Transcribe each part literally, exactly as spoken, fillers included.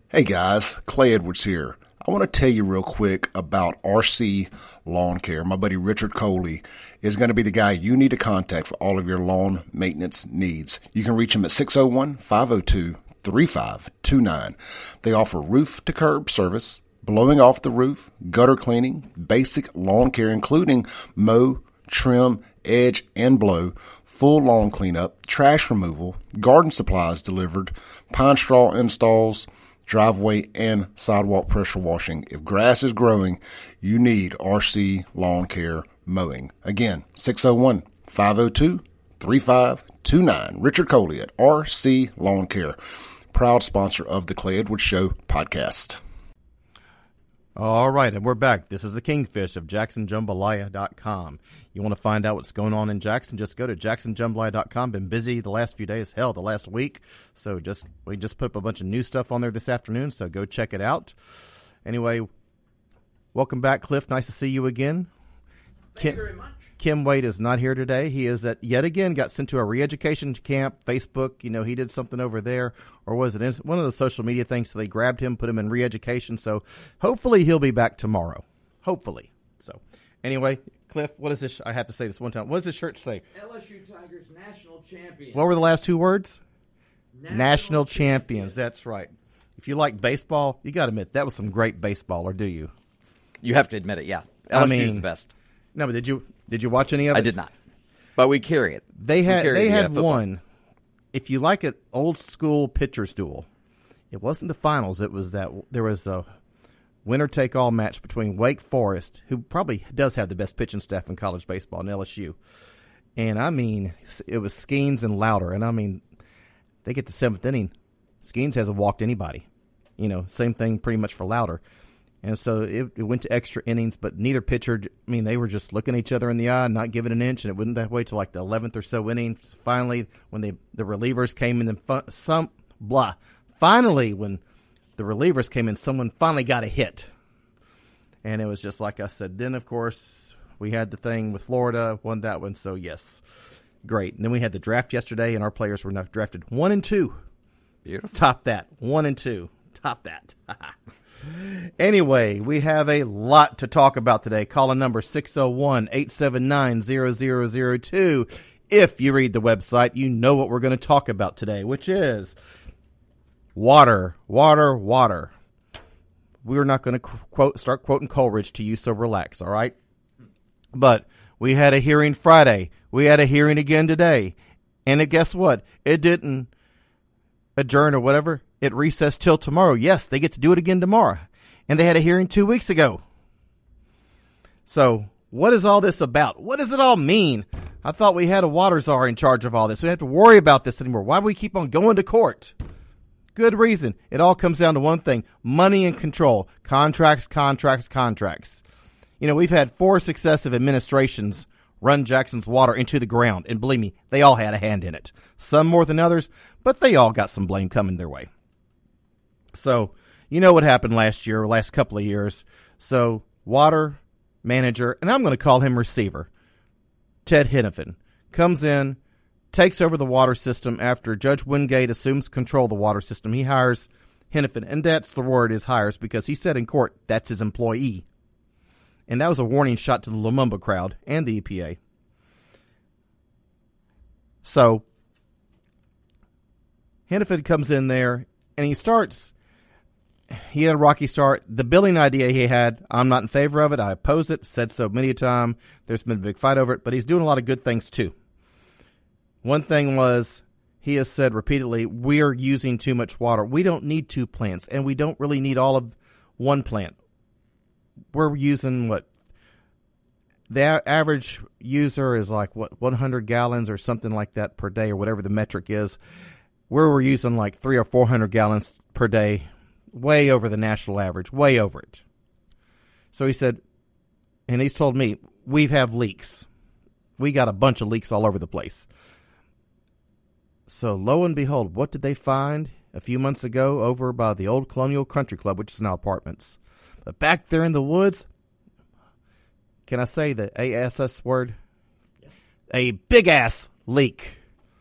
Hey guys, Clay Edwards here. I want to tell you real quick about R C Lawn Care. My buddy Richard Coley is going to be the guy you need to contact for all of your lawn maintenance needs. You can reach him at six oh one, five oh two, three five two nine. They offer roof to curb service, blowing off the roof, gutter cleaning, basic lawn care including mow, trim, edge, and blow, full lawn cleanup, trash removal, garden supplies delivered, pine straw installs, driveway and sidewalk pressure washing. If grass is growing, you need R C Lawn Care Mowing. Again, six oh one, five oh two, three five two nine. Richard Coley at R C Lawn Care, proud sponsor of the Clay Edwards Show podcast. All right, and we're back. This is the Kingfish of Jackson Jambalaya dot com. You want to find out what's going on in Jackson, just go to Jackson Jambalaya dot com. Been busy the last few days, hell, the last week. So just we just put up a bunch of new stuff on there this afternoon, so go check it out. Anyway, welcome back, Cliff. Nice to see you again. Thank Kim, you very much. Kim Wade is not here today. He is at, yet again, got sent to a re-education camp. Facebook, you know, he did something over there. Or was it one of the social media things? So they grabbed him, put him in re-education. So hopefully he'll be back tomorrow. Hopefully. So anyway, Cliff, what is this? I have to say this one time. What does this shirt say? L S U Tigers national champions. What were the last two words? National, National champions. champions. That's right. If you like baseball, you got to admit, that was some great baseball, or do you? You have to admit it, yeah. I L S U's mean, the best. No, but did you did you watch any of it? I did not. But we carry it. They We had carry they the, uh, had football. one. If you like it, old school pitcher's duel. It wasn't the finals. It was that there was a winner take all match between Wake Forest, who probably does have the best pitching staff in college baseball, and L S U. And I mean, it was Skeens and Louder, and I mean, they get to seventh inning. Skeens hasn't walked anybody. You know, same thing pretty much for Louder. And so it, it went to extra innings, but neither pitcher, I mean, they were just looking at each other in the eye, not giving an inch, and it went that way to like the eleventh or so inning. Finally, when they, the relievers came in, and fu- some, blah. Finally, when the relievers came in, someone finally got a hit. And it was just like I said. Then, of course, we had the thing with Florida, won that one, so yes, great. And then we had the draft yesterday, and our players were not drafted one and two. Beautiful. Top that. One and two. Top that. Anyway, we have a lot to talk about today. Call a number six oh one, eight seven nine, zero zero zero two. If you read the website, you know what we're going to talk about today, which is water, water, water. We're not going to quote start quoting Coleridge to you, so relax, all right? But we had a hearing Friday. We had a hearing again today. And guess what? It didn't adjourn or whatever. It recessed till tomorrow. Yes, they get to do it again tomorrow. And they had a hearing two weeks ago. So what is all this about? What does it all mean? I thought we had a water czar in charge of all this. We don't have to worry about this anymore. Why do we keep on going to court? Good reason. It all comes down to one thing: money and control. Contracts, contracts, contracts. You know, we've had four successive administrations run Jackson's water into the ground. And believe me, they all had a hand in it. Some more than others, but they all got some blame coming their way. So, you know what happened last year, or last couple of years. So, water manager, and I'm going to call him receiver, Ted Henifin, comes in, takes over the water system after Judge Wingate assumes control of the water system. He hires Henifin, and that's the word is hires, because he said in court that's his employee. And that was a warning shot to the Lumumba crowd and the E P A. So, Henifin comes in there, and he starts... He had a rocky start. The billing idea he had, I'm not in favor of it. I oppose it. Said so many a time. There's been a big fight over it, but he's doing a lot of good things too. One thing was, he has said repeatedly, we're using too much water. We don't need two plants, and we don't really need all of one plant. We're using what? The average user is like, what, one hundred gallons or something like that per day, or whatever the metric is. Where we're using like three or four hundred gallons per day. Way over the national average, way over it. So he said, and he's told me, we have leaks. We got a bunch of leaks all over the place. So lo and behold, what did they find a few months ago over by the old Colonial Country Club, which is now apartments? But back there in the woods, can I say the A S S word? Yeah. A big-ass leak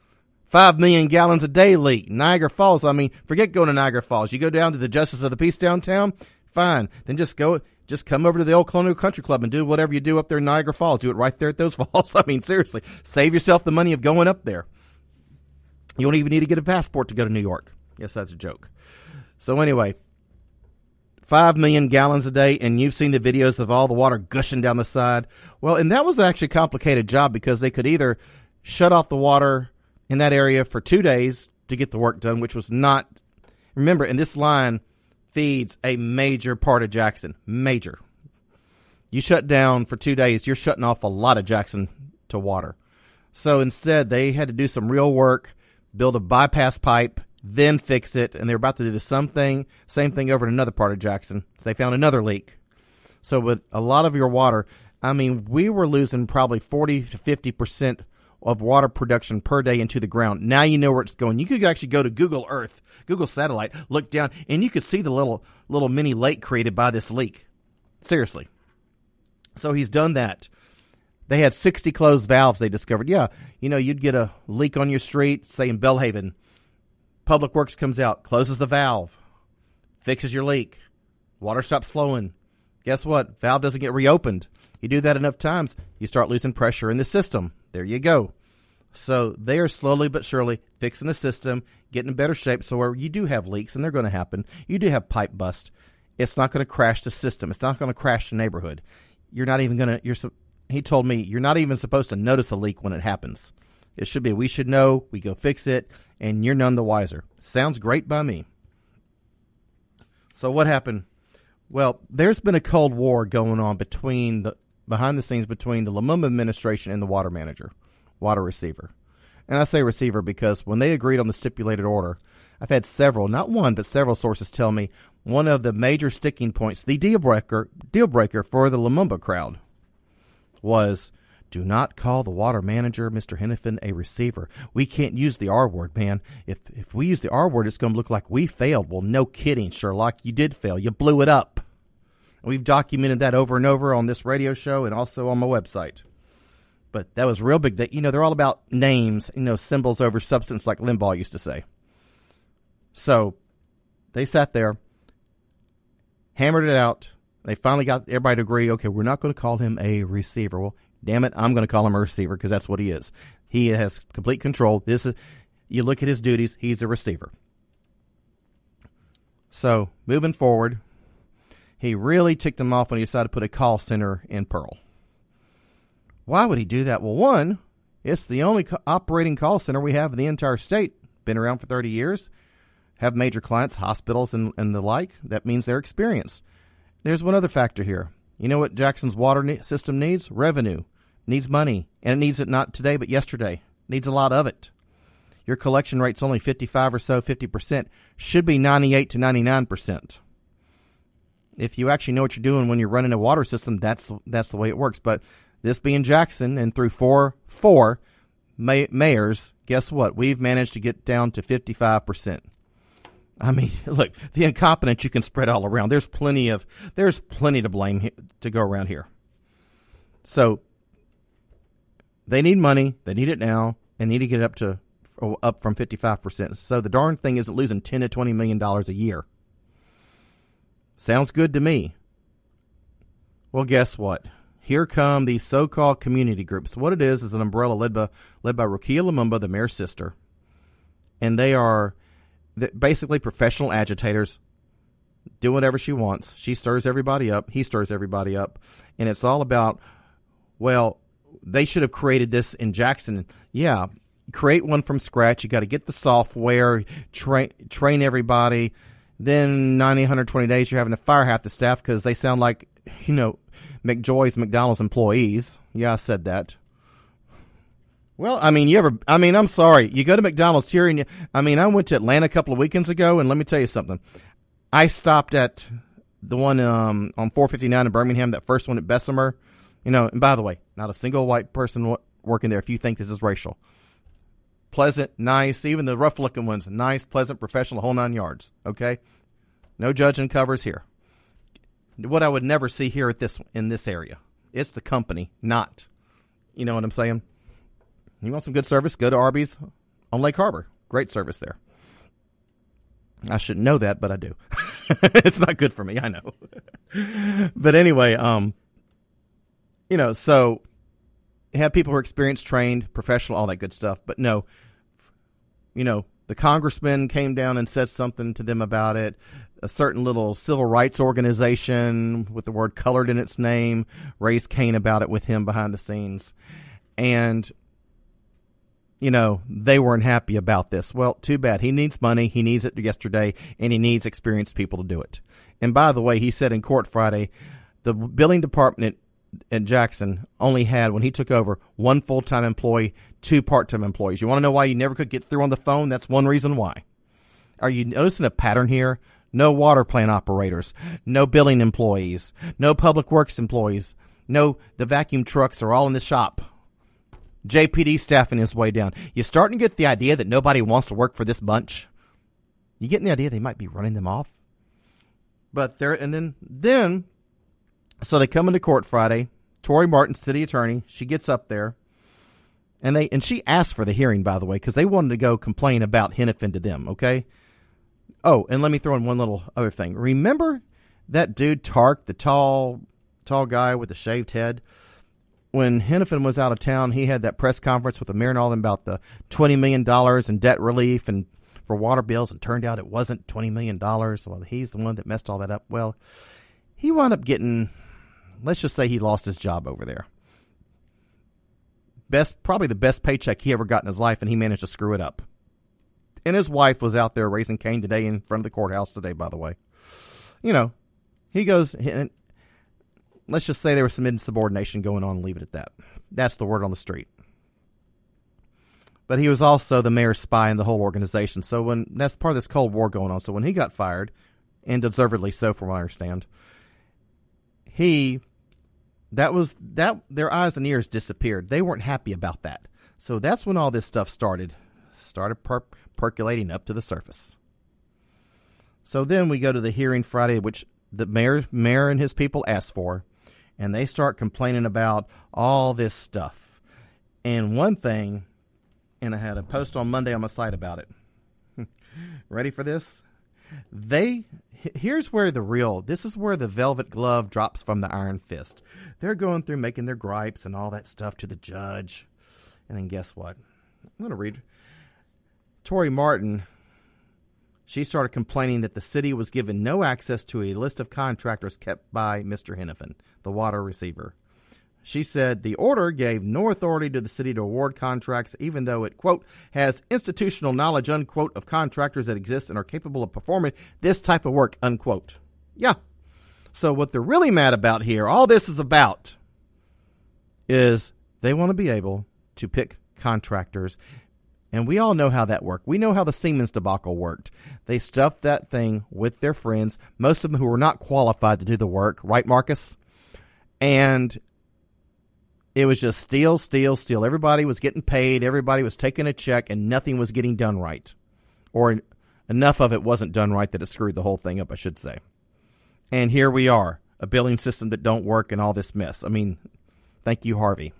Five million gallons a day leak. Niagara Falls. I mean, forget going to Niagara Falls. You go down to the Justice of the Peace downtown, fine. Then just go, just come over to the old Colonial Country Club and do whatever you do up there in Niagara Falls. Do it right there at those falls. I mean, seriously, save yourself the money of going up there. You don't even need to get a passport to go to New York. Yes, that's a joke. So anyway, five million gallons a day, and you've seen the videos of all the water gushing down the side. Well, and that was actually a complicated job because they could either shut off the water in that area for two days to get the work done, which was not, remember, and this line feeds a major part of Jackson, major. You shut down for two days, you're shutting off a lot of Jackson to water. So instead, they had to do some real work, build a bypass pipe, then fix it, and they're about to do the same thing, same thing over in another part of Jackson. So they found another leak. So with a lot of your water, I mean, we were losing probably forty to fifty percent of water production per day into the ground. Now you know where it's going. You could actually go to Google Earth, Google Satellite, look down, and you could see the little little mini lake created by this leak. Seriously. So he's done that. They had sixty closed valves they discovered. Yeah, you know, you'd get a leak on your street, say in Bellhaven. Public Works comes out, closes the valve, fixes your leak. Water stops flowing. Guess what? Valve doesn't get reopened. You do that enough times, you start losing pressure in the system. There you go. So they are slowly but surely fixing the system, getting in better shape. So where you do have leaks, and they're going to happen, you do have pipe bust, it's not going to crash the system. It's not going to crash the neighborhood. You're not even going to, you're, he told me, you're not even supposed to notice a leak when it happens. It should be, we should know, we go fix it, and you're none the wiser. Sounds great by me. So what happened? Well, there's been a Cold War going on between the, behind the scenes between the Lumumba administration and the water manager, water receiver. And I say receiver because when they agreed on the stipulated order, I've had several, not one, but several sources tell me one of the major sticking points, the deal breaker, deal breaker for the Lumumba crowd was, do not call the water manager, Mister Hennepin, a receiver. We can't use the R word, man. If if we use the R word, it's going to look like we failed. Well, no kidding, Sherlock. You did fail. You blew it up. We've documented that over and over on this radio show and also on my website. But that was real big. That, you know, they're all about names, you know, symbols over substance, like Limbaugh used to say. So they sat there, hammered it out. They finally got everybody to agree, okay, we're not going to call him a receiver. Well, damn it, I'm going to call him a receiver because that's what he is. He has complete control. This is, you look at his duties, he's a receiver. So moving forward, he really ticked him off when he decided to put a call center in Pearl. Why would he do that? Well, one, it's the only co- operating call center we have in the entire state. Been around for thirty years. Have major clients, hospitals, and, and the like. That means they're experienced. There's one other factor here. You know what Jackson's water ne- system needs? Revenue. Needs money. And it needs it not today, but yesterday. Needs a lot of it. Your collection rate's only fifty-five or so, fifty percent. Should be ninety-eight to ninety-nine percent. If you actually know what you're doing when you're running a water system, that's that's the way it works. But this being Jackson, and through four four may, mayors, guess what? We've managed to get down to fifty-five percent. I mean, look, the incompetence you can spread all around. There's plenty of there's plenty to blame he, to go around here. So they need money. They need it now. They need to get up to up from fifty-five percent. So the darn thing isn't losing ten to twenty million dollars a year. Sounds good to me. Well, guess what? Here come these so-called community groups. What it is is an umbrella led by, led by Rukia Lumumba, the mayor's sister. And they are basically professional agitators. Do whatever she wants. She stirs everybody up. He stirs everybody up. And it's all about, well, they should have created this in Jackson. Yeah, create one from scratch. You got to get the software, train train everybody. Then ninety, one hundred twenty days, you're having to fire half the staff because they sound like, you know, McJoy's McDonald's employees. Yeah, I said that. Well, I mean, you ever, I mean, I'm sorry. You go to McDonald's here, and you, I mean, I went to Atlanta a couple of weekends ago, and let me tell you something. I stopped at the one um, on four fifty-nine in Birmingham, that first one at Bessemer. You know, and by the way, not a single white person w- working there if you think this is racial. Pleasant, nice, even the rough-looking ones, nice, pleasant, professional, whole nine yards, okay? No judging covers here. What I would never see here at this in this area. It's the company, not. You know what I'm saying? You want some good service? Go to Arby's on Lake Harbor. Great service there. I shouldn't know that, but I do. It's not good for me, I know. But anyway, um, you know, so have people who are experienced, trained, professional, all that good stuff. But no, you know, the congressman came down and said something to them about it. A certain little civil rights organization with the word colored in its name raised Cain about it with him behind the scenes. And, you know, they weren't happy about this. Well, too bad. He needs money. He needs it yesterday, and he needs experienced people to do it. And by the way, he said in court Friday, the billing department at Jackson only had, when he took over, one full-time employee, two part-time employees. You want to know why you never could get through on the phone? That's one reason why. Are you noticing a pattern here? No water plant operators, no billing employees, no public works employees, no, the vacuum trucks are all in the shop. J P D staffing is way down. You starting to get the idea that nobody wants to work for this bunch? You getting the idea they might be running them off? But there, and then, then, so they come into court Friday. Tori Martin, city attorney, she gets up there, and they, and she asked for the hearing, by the way, because they wanted to go complain about Hennepin to them. Okay. Oh, and let me throw in one little other thing. Remember that dude Tark, the tall, tall guy with the shaved head? When Hennepin was out of town, he had that press conference with the mayor and all them about the twenty million dollars in debt relief and for water bills, and turned out it wasn't twenty million dollars. Well, he's the one that messed all that up. Well, he wound up getting, let's just say he lost his job over there. Best, probably the best paycheck he ever got in his life, and he managed to screw it up. And his wife was out there raising Cain today in front of the courthouse today, by the way. You know, he goes, and let's just say there was some insubordination going on and leave it at that. That's the word on the street. But he was also the mayor's spy in the whole organization. So when that's part of this Cold War going on. So when he got fired, and deservedly so from what I understand, he, that was, that their eyes and ears disappeared. They weren't happy about that. So that's when all this stuff started, started per- percolating up to the surface. So then we go to the hearing Friday, which the mayor, mayor and his people asked for. And they start complaining about all this stuff. And one thing, and I had a post on Monday on my site about it. Ready for this? They, here's where the real, this is where the velvet glove drops from the iron fist. They're going through making their gripes and all that stuff to the judge. And then guess what? I'm going to read. Tori Martin, she started complaining that the city was given no access to a list of contractors kept by Mister Hennepin, the water receiver. She said the order gave no authority to the city to award contracts, even though it, quote, has institutional knowledge, unquote, of contractors that exist and are capable of performing this type of work, unquote. Yeah. So what they're really mad about here, all this is about, is they want to be able to pick contractors. And we all know how that worked. We know how the Siemens debacle worked. They stuffed that thing with their friends, most of them who were not qualified to do the work. Right, Marcus? And it was just steal, steal, steal. Everybody was getting paid. Everybody was taking a check, and nothing was getting done right. Or enough of it wasn't done right that it screwed the whole thing up, I should say. And here we are, a billing system that don't work and all this mess. I mean, thank you, Harvey.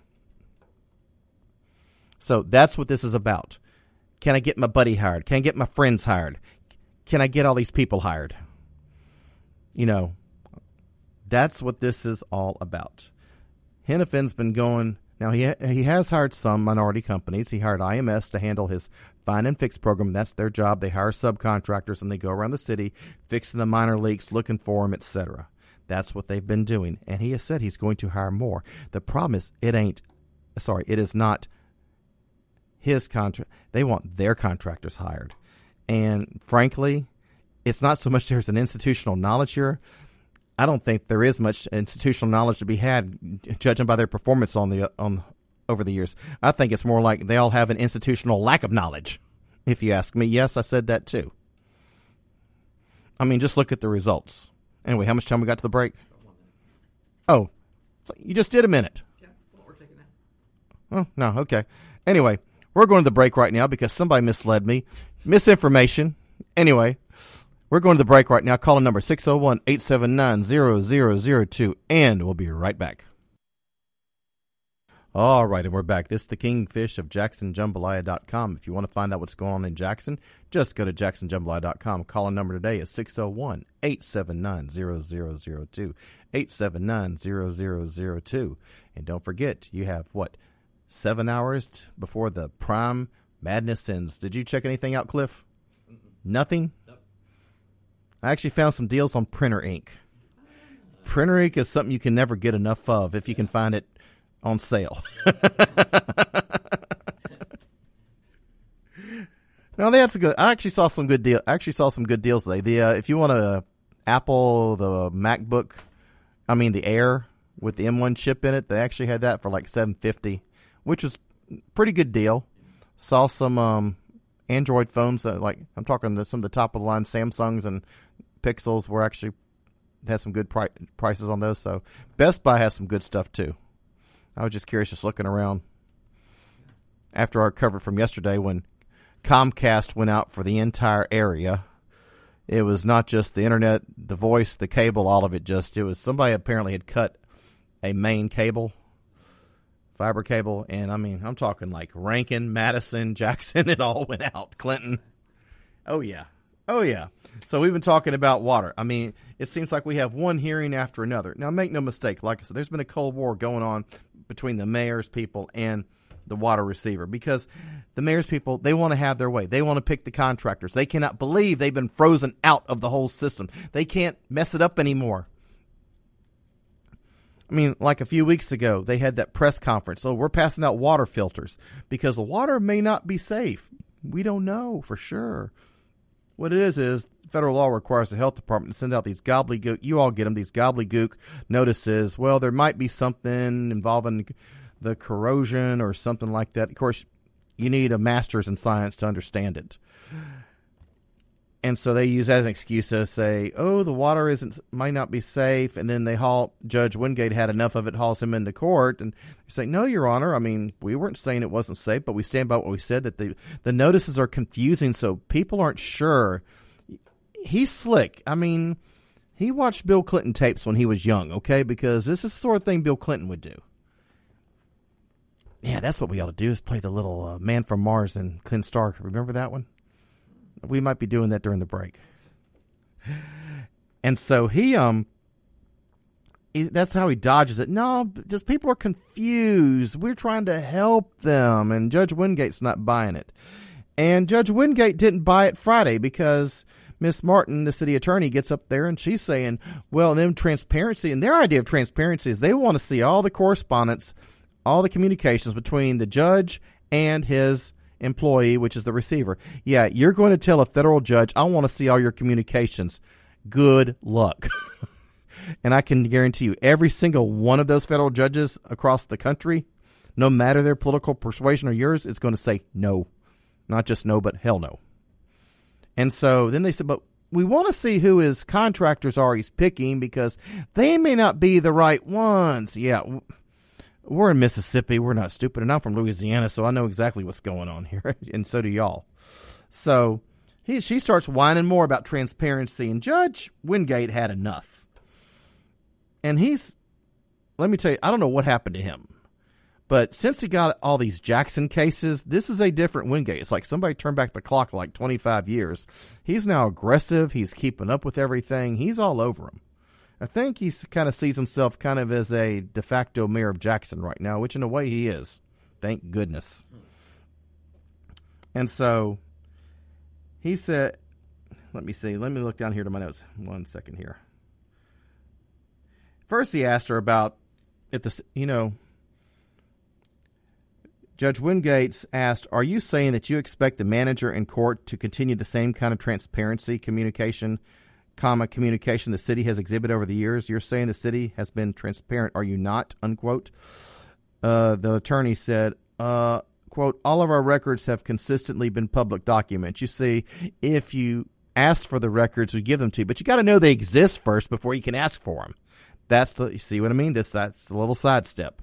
So that's what this is about. Can I get my buddy hired? Can I get my friends hired? Can I get all these people hired? You know, that's what this is all about. Hennepin's been going, now he ha- he has hired some minority companies. He hired I M S to handle his find and fix program. That's their job. They hire subcontractors and they go around the city fixing the minor leaks, looking for them, et cetera. That's what they've been doing. And he has said he's going to hire more. The problem is it ain't, sorry, it is not his contract. They want their contractors hired. And frankly, it's not so much there's an institutional knowledge here. I don't think there is much institutional knowledge to be had, judging by their performance on the on over the years. I think it's more like they all have an institutional lack of knowledge, if you ask me. Yes, I said that too. I mean, just look at the results. Anyway, how much time we got to the break? Oh, you just did a minute. Yeah, well, we're taking that. Oh, no, okay. Anyway, we're going to the break right now because somebody misled me. Misinformation. Anyway, we're going to the break right now. Call in number six oh one, eight seven nine, zero zero zero two, and we'll be right back. All right, and we're back. This is the Kingfish of Jackson Jambalaya dot com. If you want to find out what's going on in Jackson, just go to Jackson Jambalaya dot com. Call number today is six oh one, eight seven nine, zero zero zero two, eight seven nine, zero zero zero two. And don't forget, you have, what, seven hours t- before the Prime Madness ends. Did you check anything out, Cliff? Mm-mm. Nothing? Nope. I actually found some deals on Printer Ink. Printer Ink is something you can never get enough of if you can find it on sale. No, that's a good. I actually saw some good deal. I actually saw some good deals today. The uh, if you want a Apple the MacBook, I mean the Air with the M one chip in it, they actually had that for like seven fifty, which was pretty good deal. Saw some um, Android phones that, like I'm talking to some of the top of the line Samsungs and Pixels were actually had some good pri- prices on those. So Best Buy has some good stuff too. I was just curious, just looking around after our cover from yesterday when Comcast went out for the entire area. It was not just the internet, the voice, the cable, all of it. Just it was somebody apparently had cut a main cable, fiber cable, and I mean I'm talking like Rankin, Madison, Jackson. It all went out. Clinton. Oh yeah, oh yeah. So we've been talking about water. I mean, it seems like we have one hearing after another. Now, make no mistake. Like I said, there's been a Cold War going on between the mayor's people and the water receiver because the mayor's people, they want to have their way. They want to pick the contractors. They cannot believe they've been frozen out of the whole system. They can't mess it up anymore. I mean, like a few weeks ago, they had that press conference. So we're passing out water filters because the water may not be safe. We don't know for sure. What it is is federal law requires the health department to send out these gobbledygook, you all get them, these gobbledygook notices. Well, there might be something involving the corrosion or something like that. Of course, you need a master's in science to understand it. And so they use that as an excuse to say, oh, the water isn't might not be safe. And then they haul, Judge Wingate had enough of it, hauls him into court. And they say, no, Your Honor, I mean, we weren't saying it wasn't safe, but we stand by what we said, that the, the notices are confusing, so people aren't sure. He's slick. I mean, he watched Bill Clinton tapes when he was young, okay? Because this is the sort of thing Bill Clinton would do. Yeah, that's what we ought to do is play the little uh, Man from Mars and Clint Stark. Remember that one? We might be doing that during the break. And so he, um, he, that's how he dodges it. No, just people are confused. We're trying to help them. And Judge Wingate's not buying it. And Judge Wingate didn't buy it Friday because Miss Martin, the city attorney, gets up there and she's saying, well, then transparency, and their idea of transparency is they want to see all the correspondence, all the communications between the judge and his employee, which is the receiver. Yeah, you're going to tell a federal judge, I want to see all your communications. Good luck. And I can guarantee you, every single one of those federal judges across the country, no matter their political persuasion or yours, is going to say no. Not just no, but hell no. And so then they said, but we want to see who his contractors are he's picking because they may not be the right ones. Yeah, we're in Mississippi. We're not stupid. And I'm from Louisiana, so I know exactly what's going on here. And so do y'all. So he, she starts whining more about transparency. And Judge Wingate had enough. And he's, let me tell you, I don't know what happened to him. But since he got all these Jackson cases, this is a different Wingate. It's like somebody turned back the clock like twenty-five years. He's now aggressive. He's keeping up with everything. He's all over him. I think he kind of sees himself kind of as a de facto mayor of Jackson right now, which in a way he is. Thank goodness. And so he said, let me see. Let me look down here to my notes. One second here. First he asked her about if the, you know, Judge Wingate asked, are you saying that you expect the manager in court to continue the same kind of transparency, communication, comma, communication the city has exhibited over the years? You're saying the city has been transparent, are you not, unquote? Uh, the attorney said, uh, quote, all of our records have consistently been public documents. You see, if you ask for the records, we give them to you, but you got to know they exist first before you can ask for them. That's the, you see what I mean? This, that's a little sidestep.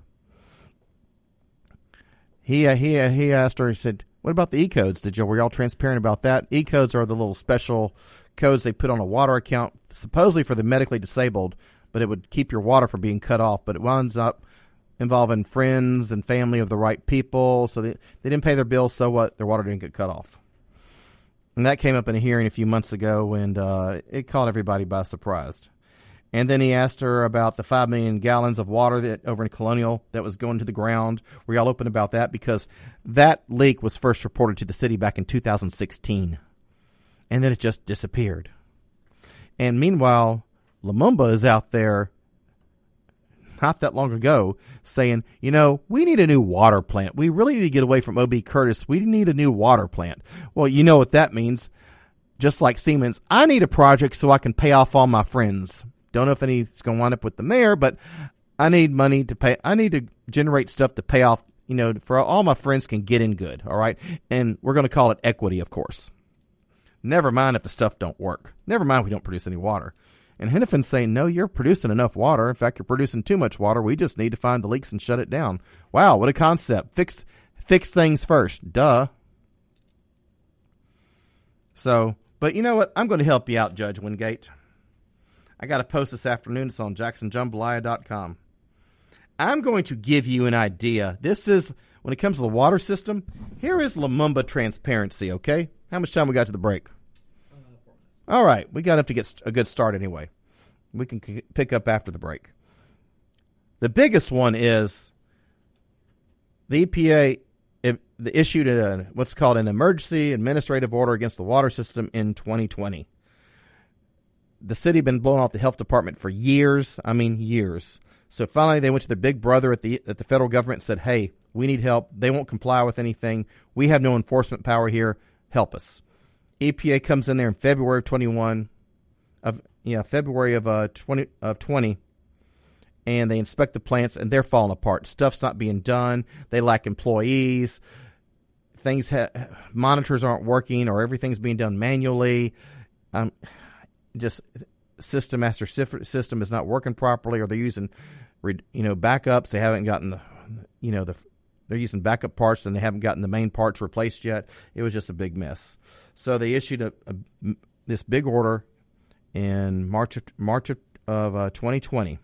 He uh, he uh, he asked her. He said, "What about the E-codes? Did you were y'all transparent about that? E-codes are the little special codes they put on a water account, supposedly for the medically disabled, but it would keep your water from being cut off. But it winds up involving friends and family of the right people. So they, they didn't pay their bills, so what? Their water didn't get cut off. And that came up in a hearing a few months ago, and uh, it caught everybody by surprise. And then he asked her about the five million gallons of water that over in Colonial that was going to the ground. Were y'all open about that? Because that leak was first reported to the city back in two thousand sixteen. And then it just disappeared. And meanwhile, Lumumba is out there not that long ago saying, you know, we need a new water plant. We really need to get away from O B. Curtis. We need a new water plant. Well, you know what that means. Just like Siemens, I need a project so I can pay off all my friends. Don't know if any's going to wind up with the mayor, but I need money to pay. I need to generate stuff to pay off, you know, for all my friends can get in good. All right. And we're going to call it equity, of course. Never mind if the stuff don't work. Never mind we don't produce any water. And Hennefin's saying, no, you're producing enough water. In fact, you're producing too much water. We just need to find the leaks and shut it down. Wow, what a concept. Fix fix things first. Duh. So, but you know what? I'm going to help you out, Judge Wingate. I got a post this afternoon. It's on Jackson Jambalaya dot com. I'm going to give you an idea. This is, when it comes to the water system, here is Lumumba transparency, okay? How much time we got to the break? All right, we got enough to get a good start anyway. We can c- pick up after the break. The biggest one is the E P A it, issued a, what's called an emergency administrative order against the water system in twenty twenty. The city had been blowing off the health department for years. I mean, years. So finally they went to their big brother at the at the federal government and said, hey, we need help. They won't comply with anything. We have no enforcement power here. Help us. E P A comes in there in February of twenty-one, of yeah, February of uh twenty of twenty, and they inspect the plants and they're falling apart. Stuff's not being done. They lack employees. Things ha- monitors aren't working, or everything's being done manually. Um, just system master system is not working properly, or they're using, you know, backups. They haven't gotten the, you know, the. They're using backup parts, and they haven't gotten the main parts replaced yet. It was just a big mess. So they issued a, a this big order in March of, March of, of uh, twenty twenty,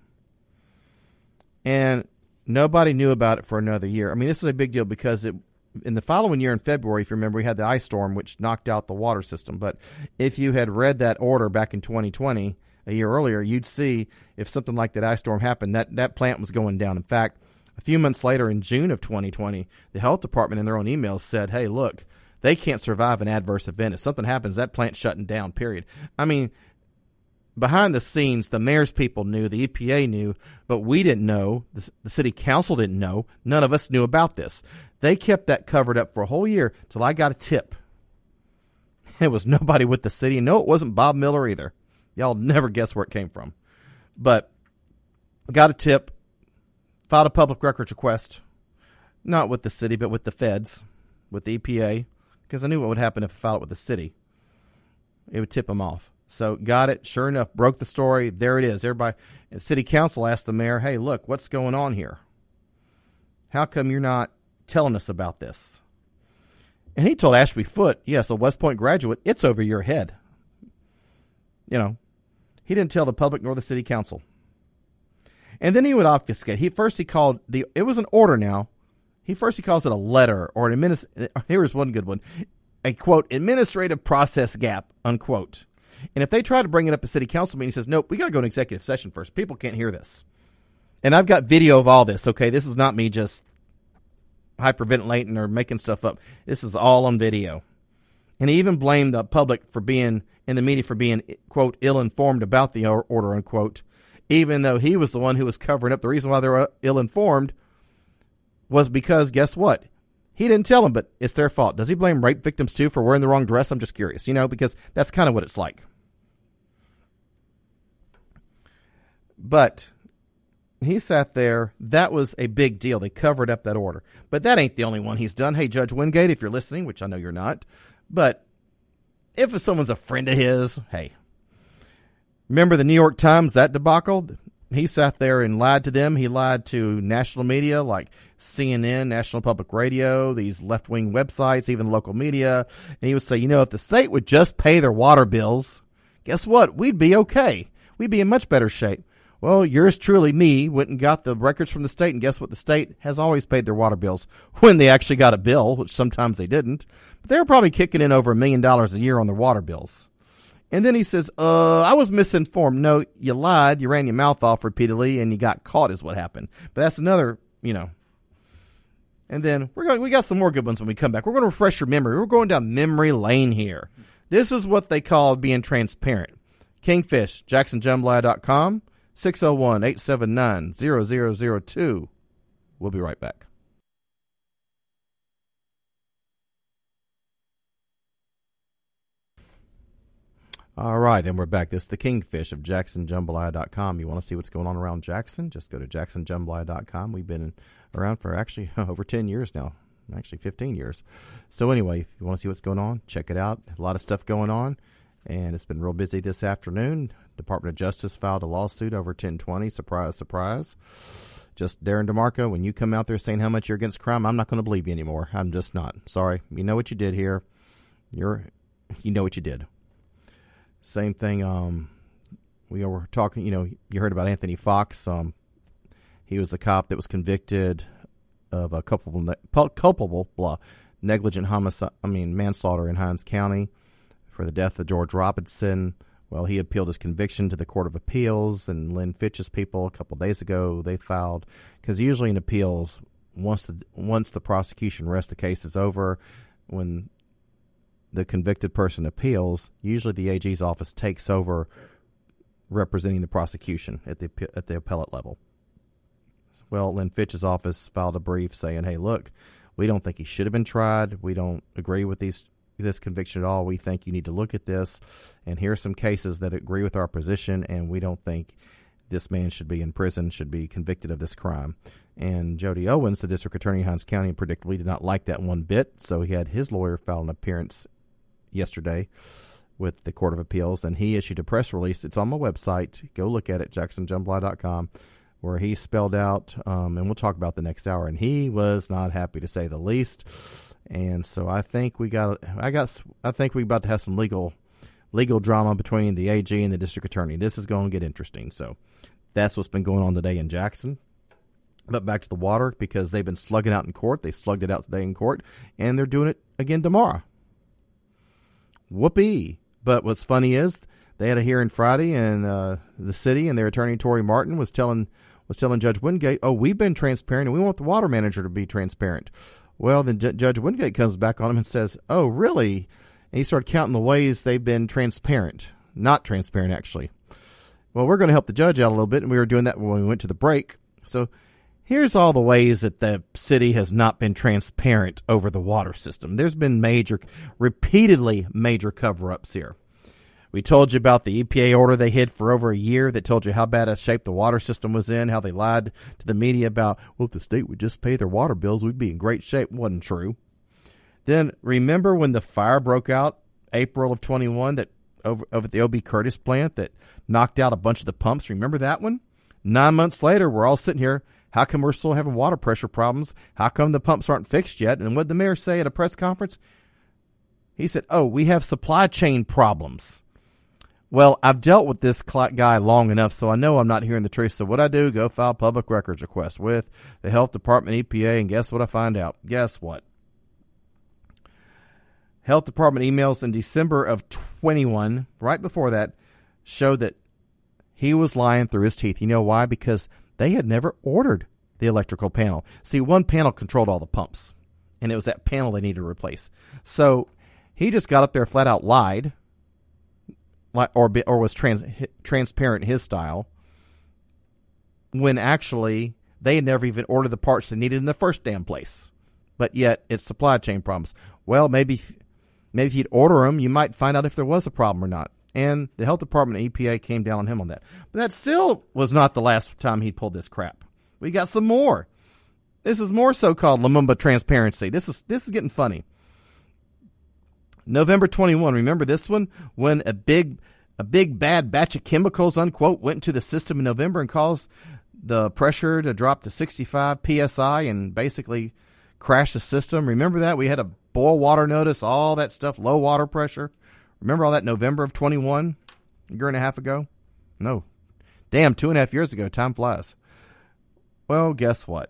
and nobody knew about it for another year. I mean, this is a big deal because it, in the following year in February, if you remember, we had the ice storm, which knocked out the water system. But if you had read that order back in twenty twenty, a year earlier, you'd see if something like that ice storm happened, that, that plant was going down. In fact, a few months later, in June of twenty twenty, the health department in their own emails said, hey, look, they can't survive an adverse event. If something happens, that plant's shutting down, period. I mean, behind the scenes, the mayor's people knew, the E P A knew, but we didn't know. The, the city council didn't know. None of us knew about this. They kept that covered up for a whole year till I got a tip. It was nobody with the city. No, it wasn't Bob Miller either. Y'all never guess where it came from. But got a tip. Filed a public records request, not with the city, but with the feds, with the E P A, because I knew what would happen if I filed it with the city. It would tip them off. So got it. Sure enough, broke the story. There it is. Everybody, the city council asked the mayor, hey, look, what's going on here? How come you're not telling us about this? And he told Ashby Foote, yes, a West Point graduate, it's over your head. You know, he didn't tell the public nor the city council. And then he would obfuscate. He first he called the it was an order now. He first he calls it a letter or an administ- here's one good one. A quote administrative process gap, unquote. And if they try to bring it up at city council meeting, he says, nope, we gotta go in executive session first. People can't hear this. And I've got video of all this, okay? This is not me just hyperventilating or making stuff up. This is all on video. And he even blamed the public for being in the media for being, quote, ill informed about the order, unquote. Even though he was the one who was covering up. The reason why they were ill-informed was because, guess what? He didn't tell them, but it's their fault. Does he blame rape victims, too, for wearing the wrong dress? I'm just curious, you know, because that's kind of what it's like. But he sat there. That was a big deal. They covered up that order. But that ain't the only one he's done. Hey, Judge Wingate, if you're listening, which I know you're not, but if someone's a friend of his, hey, remember the New York Times, that debacle? He sat there and lied to them. He lied to national media like C N N, National Public Radio, these left-wing websites, even local media. And he would say, you know, if the state would just pay their water bills, guess what? We'd be okay. We'd be in much better shape. Well, yours truly, me, went and got the records from the state, and guess what? The state has always paid their water bills when they actually got a bill, which sometimes they didn't. But they were probably kicking in over a million dollars a year on their water bills. And then he says, uh, I was misinformed. No, you lied. You ran your mouth off repeatedly, and you got caught is what happened. But that's another, you know. And then we're going, we got some more good ones when we come back. We're going to refresh your memory. We're going down memory lane here. This is what they call being transparent. Kingfish, Jackson Jambalaya dot com, six oh one, eight seven nine, zero zero zero two. We'll be right back. All right, and we're back. This is the Kingfish of Jackson Jambalaya dot com. You want to see what's going on around Jackson? Just go to Jackson Jambalaya dot com. We've been around for actually over ten years now, actually fifteen years. So anyway, if you want to see what's going on, check it out. A lot of stuff going on, and it's been real busy this afternoon. Department of Justice filed a lawsuit over ten twenty. Surprise, surprise. Just Darren DeMarco, when you come out there saying how much you're against crime, I'm not going to believe you anymore. I'm just not. Sorry. You know what you did here. You're, you know what you did. Same thing, um, we were talking, you know, you heard about Anthony Fox. Um, he was the cop that was convicted of a culpable, ne- culpable blah, negligent homicide, I mean, manslaughter in Hinds County for the death of George Robinson. Well, he appealed his conviction to the Court of Appeals, and Lynn Fitch's people a couple days ago, they filed, because usually in appeals, once the, once the prosecution rests, the case is over. When the convicted person appeals, usually the A G's office takes over representing the prosecution at the at the appellate level. Well, Lynn Fitch's office filed a brief saying, hey, look, we don't think he should have been tried. We don't agree with these this conviction at all. We think you need to look at this, and here are some cases that agree with our position, and we don't think this man should be in prison, should be convicted of this crime. And Jody Owens, the district attorney in Hinds County, predictably did not like that one bit, so he had his lawyer file an appearance yesterday with the Court of Appeals, and he issued a press release. It's on my website. Go look at it, Jackson Jambalaya dot com, where he spelled out, um, and we'll talk about the next hour, and he was not happy, to say the least. And so I think we got, I got, I think we're about to have some legal, legal drama between the A G and the district attorney. This is going to get interesting. So that's what's been going on today in Jackson. But back to the water, because they've been slugging out in court. They slugged it out today in court, and they're doing it again tomorrow. Whoopee. But what's funny is they had a hearing Friday in uh, the city, and their attorney, Tory Martin, was telling was telling Judge Wingate, oh, we've been transparent, and we want the water manager to be transparent. Well, then J- Judge Wingate comes back on him and says, oh, really? And he started counting the ways they've been transparent. Not transparent, actually. Well, we're going to help the judge out a little bit, and we were doing that when we went to the break. So here's all the ways that the city has not been transparent over the water system. There's been major, repeatedly major cover-ups here. We told you about the E P A order they hid for over a year that told you how bad a shape the water system was in, how they lied to the media about, well, if the state would just pay their water bills, we'd be in great shape. Wasn't true. Then remember when the fire broke out April of twenty-one that over, over at the O B Curtis plant that knocked out a bunch of the pumps? Remember that one? Nine months later, we're all sitting here. How come we're still having water pressure problems? How come the pumps aren't fixed yet? And what did the mayor say at a press conference? He said, oh, we have supply chain problems. Well, I've dealt with this guy long enough, so I know I'm not hearing the truth. So what I do, go file public records request with the Health Department, E P A, and guess what I find out? Guess what? Health Department emails in December of twenty-one, right before that, showed that he was lying through his teeth. You know why? Because they had never ordered the electrical panel. See, one panel controlled all the pumps, and it was that panel they needed to replace. So he just got up there, flat out lied, or or was trans, transparent in his style, when actually they had never even ordered the parts they needed in the first damn place. But yet it's supply chain problems. Well, maybe maybe if you'd order them, you might find out if there was a problem or not. And the Health Department and E P A came down on him on that. But that still was not the last time he pulled this crap. We got some more. This is more so-called Lumumba transparency. This is this is getting funny. November twenty-first, remember this one? When a big a big bad batch of chemicals, unquote, went into the system in November and caused the pressure to drop to sixty-five P S I and basically crash the system. Remember that? We had a boil water notice, all that stuff, low water pressure. Remember all that November of twenty-one, a year and a half ago? No, Damn, two and a half years ago. Time flies. Well, guess what?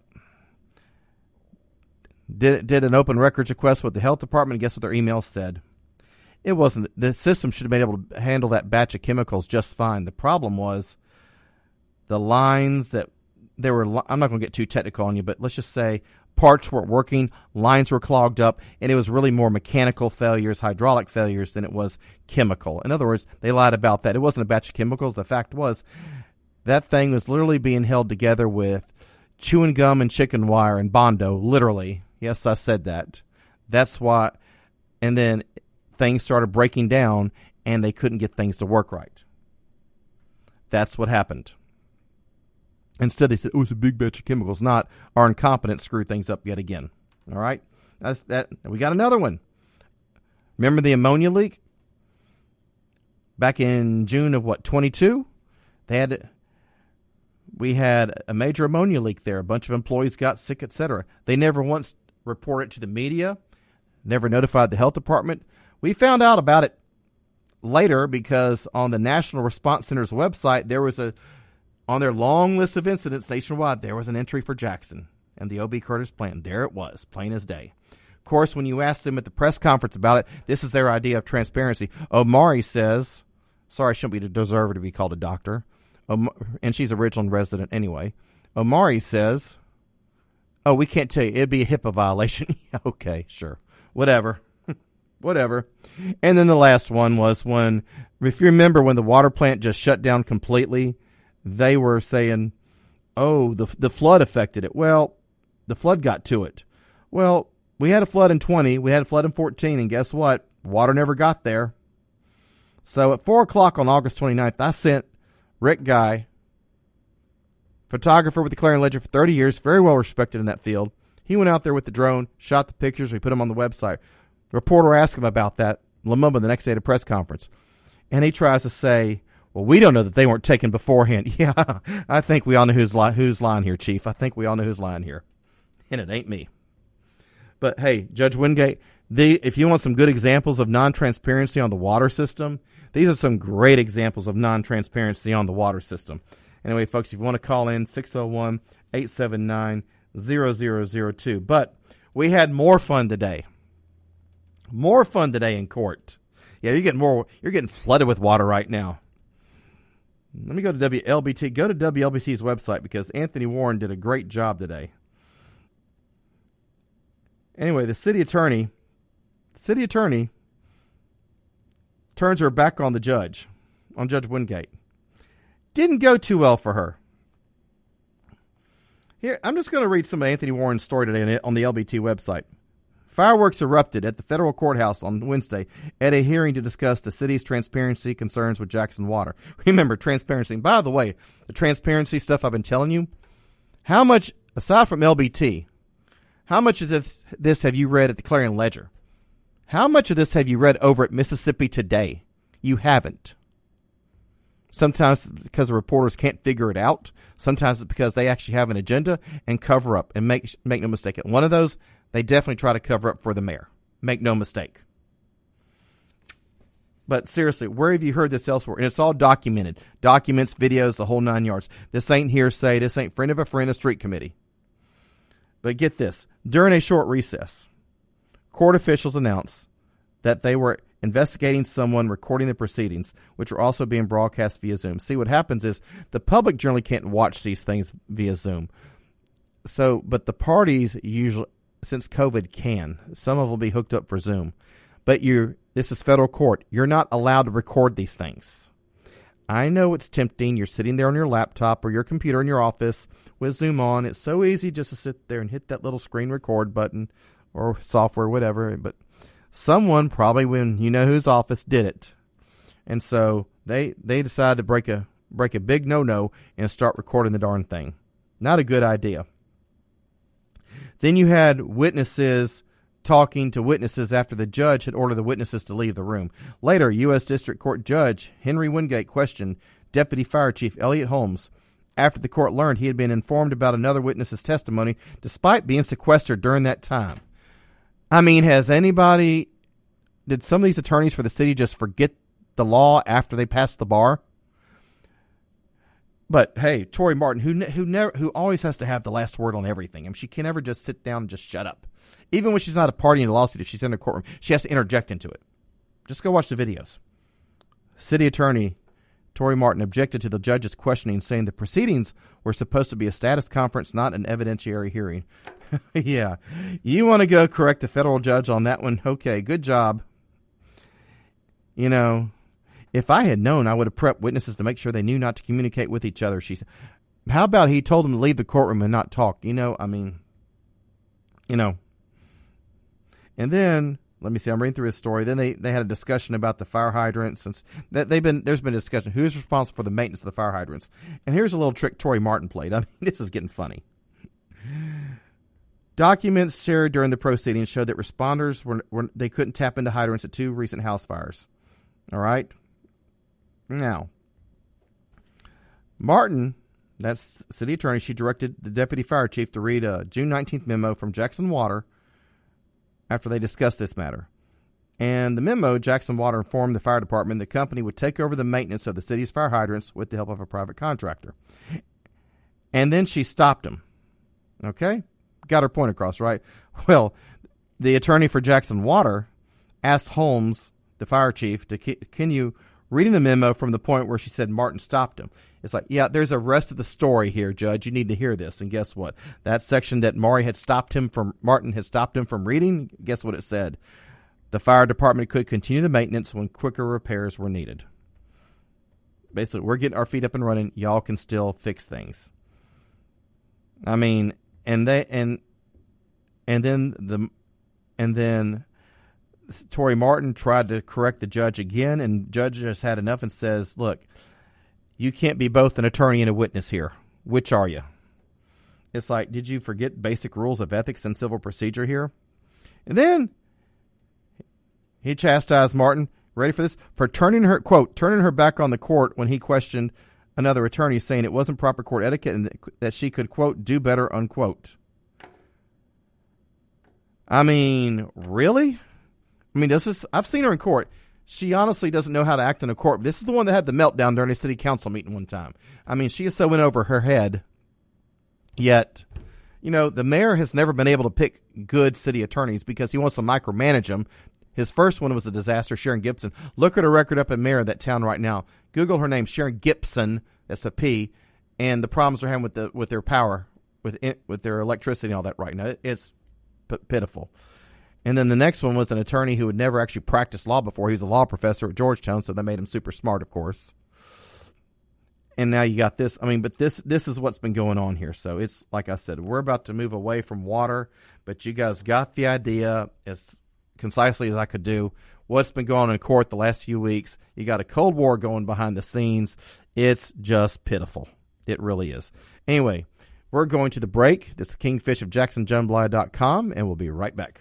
Did did an open records request with the health department, and guess what their email said? It wasn't. The system should have been able to handle that batch of chemicals just fine. The problem was the lines that there were. I'm not going to get too technical on you, but let's just say parts weren't working, lines were clogged up, and it was really more mechanical failures, hydraulic failures than it was chemical. In other words, they lied about that. It wasn't a batch of chemicals. The fact was that thing was literally being held together with chewing gum and chicken wire and Bondo, literally. Yes, I said that. That's why. And then things started breaking down, and they couldn't get things to work right. That's what happened. Instead, they said, oh, it's a big batch of chemicals. Not our incompetence screwed things up yet again. All right? That's that. We got another one. Remember the ammonia leak? Back in June of, what, twenty-two? They had... We had a major ammonia leak there. A bunch of employees got sick, et cetera. They never once reported it to the media, never notified the health department. We found out about it later because on the National Response Center's website, there was a, on their long list of incidents nationwide, there was an entry for Jackson and the O B. Curtis plant. There it was, plain as day. Of course, when you asked them at the press conference about it, this is their idea of transparency. Omari says, sorry, I shouldn't be deserve her to be called a doctor. Um, and she's a Ridgeland resident anyway. Omari says, oh, we can't tell you. It'd be a HIPAA violation. Okay, sure. Whatever. Whatever. And then the last one was when, if you remember when the water plant just shut down completely, they were saying, oh, the the flood affected it. Well, the flood got to it. Well, we had a flood in twenty. We had a flood in fourteen. And guess what? Water never got there. So at four o'clock on August twenty-ninth, I sent Rick Guy, photographer with the Clarion Ledger for thirty years, very well respected in that field. He went out there with the drone, shot the pictures, we put them on the website. The reporter asked him about that, Lumumba, the next day at a press conference. And he tries to say, well, we don't know that they weren't taken beforehand. Yeah, I think we all know who's, li- who's lying here, Chief. I think we all know who's lying here. And it ain't me. But, hey, Judge Wingate, the, if you want some good examples of non-transparency on the water system, these are some great examples of non-transparency on the water system. Anyway, folks, if you want to call in, six oh one, eight seven nine, zero zero zero two. But we had more fun today. More fun today in court. Yeah, you're getting more. You're getting flooded with water right now. Let me go to W L B T. Go to W L B T's website because Anthony Warren did a great job today. Anyway, the city attorney, city attorney turns her back on the judge, on Judge Wingate. Didn't go too well for her. Here, I'm just going to read some of Anthony Warren's story today on the L B T website. Fireworks erupted at the federal courthouse on Wednesday at a hearing to discuss the city's transparency concerns with Jackson Water. Remember, transparency. And by the way, the transparency stuff I've been telling you, how much, aside from L B T, how much of this, this have you read at the Clarion Ledger? How much of this have you read over at Mississippi Today? You haven't. Sometimes it's because the reporters can't figure it out. Sometimes it's because they actually have an agenda and cover up. And make make no mistake, one of those, they definitely try to cover up for the mayor. Make no mistake. But seriously, where have you heard this elsewhere? And it's all documented. Documents, videos, the whole nine yards. This ain't hearsay. This ain't friend of a friend, a street committee. But get this. During a short recess, court officials announced that they were investigating someone recording the proceedings, which are also being broadcast via Zoom. See, what happens is the public generally can't watch these things via Zoom. So, but the parties usually, since COVID, can. Some of them will be hooked up for Zoom. But you, this is federal court. You're not allowed to record these things. I know it's tempting. You're sitting there on your laptop or your computer in your office with Zoom on. It's so easy just to sit there and hit that little screen record button or software, whatever. But someone, probably when you know whose office, did it. And so they they decided to break a break a big no-no and start recording the darn thing. Not a good idea. Then you had witnesses talking to witnesses after the judge had ordered the witnesses to leave the room. Later, U S District Court Judge Henry Wingate questioned Deputy Fire Chief Elliot Holmes after the court learned he had been informed about another witness's testimony despite being sequestered during that time. I mean, has anybody, did some of these attorneys for the city just forget the law after they passed the bar? But hey, Tori Martin, who ne- who never who always has to have the last word on everything. I mean, she can never just sit down and just shut up. Even when she's not a party in the lawsuit, if she's in a courtroom, she has to interject into it. Just go watch the videos. City Attorney Tori Martin objected to the judge's questioning, saying the proceedings were supposed to be a status conference, not an evidentiary hearing. Yeah. You want to go correct the federal judge on that one? Okay, good job. You know, if I had known, I would have prepped witnesses to make sure they knew not to communicate with each other. She said, how about he told them to leave the courtroom and not talk? You know, I mean, you know. And then, let me see, I'm reading through his story. Then they, they had a discussion about the fire hydrants. Since that they've been, there's been a discussion who's responsible for the maintenance of the fire hydrants. And here's a little trick Tori Martin played. I mean, this is getting funny. Documents shared during the proceedings showed that responders were, were they couldn't tap into hydrants at two recent house fires. All right. Now, Martin, that's city attorney, she directed the deputy fire chief to read a June nineteenth memo from Jackson Water after they discussed this matter. And the memo, Jackson Water informed the fire department the company would take over the maintenance of the city's fire hydrants with the help of a private contractor. And then she stopped him. Okay? Got her point across, right? Well, the attorney for Jackson Water asked Holmes, the fire chief, to continue reading the memo from the point where she said Martin stopped him. It's like, yeah, there's a rest of the story here, Judge. You need to hear this. And guess what? That section that Maury had stopped him from, Martin had stopped him from reading, guess what it said? The fire department could continue the maintenance when quicker repairs were needed. Basically, we're getting our feet up and running. Y'all can still fix things. I mean, and they and and then the and then Tori Martin tried to correct the judge again, and judge just had enough and says, "Look, you can't be both an attorney and a witness here. Which are you?" It's like, did you forget basic rules of ethics and civil procedure here? And then he chastised Martin, ready for this, for turning her, quote, turning her back on the court when he questioned another attorney, saying it wasn't proper court etiquette and that she could, quote, do better, unquote. I mean, really? I mean, this is, I've seen her in court. She honestly doesn't know how to act in a court. This is the one that had the meltdown during a city council meeting one time. I mean, she is so in over her head. Yet, you know, the mayor has never been able to pick good city attorneys because he wants to micromanage them. His first one was a disaster, Sharon Gibson. Look at her record up in mayor of that town right now. Google her name, Sharon Gibson. That's a P. And the problems they're having with the with their power, with it, with their electricity and all that right now. It's p- pitiful. And then the next one was an attorney who had never actually practiced law before. He was a law professor at Georgetown, so they made him super smart, of course. And now you got this. I mean, but this this is what's been going on here. So it's, like I said, we're about to move away from water, but you guys got the idea as concisely as I could do. What's been going on in court the last few weeks. You got a Cold War going behind the scenes. It's just pitiful. It really is. Anyway, we're going to the break. This is Kingfish of Jackson Jambalaya dot com, and we'll be right back.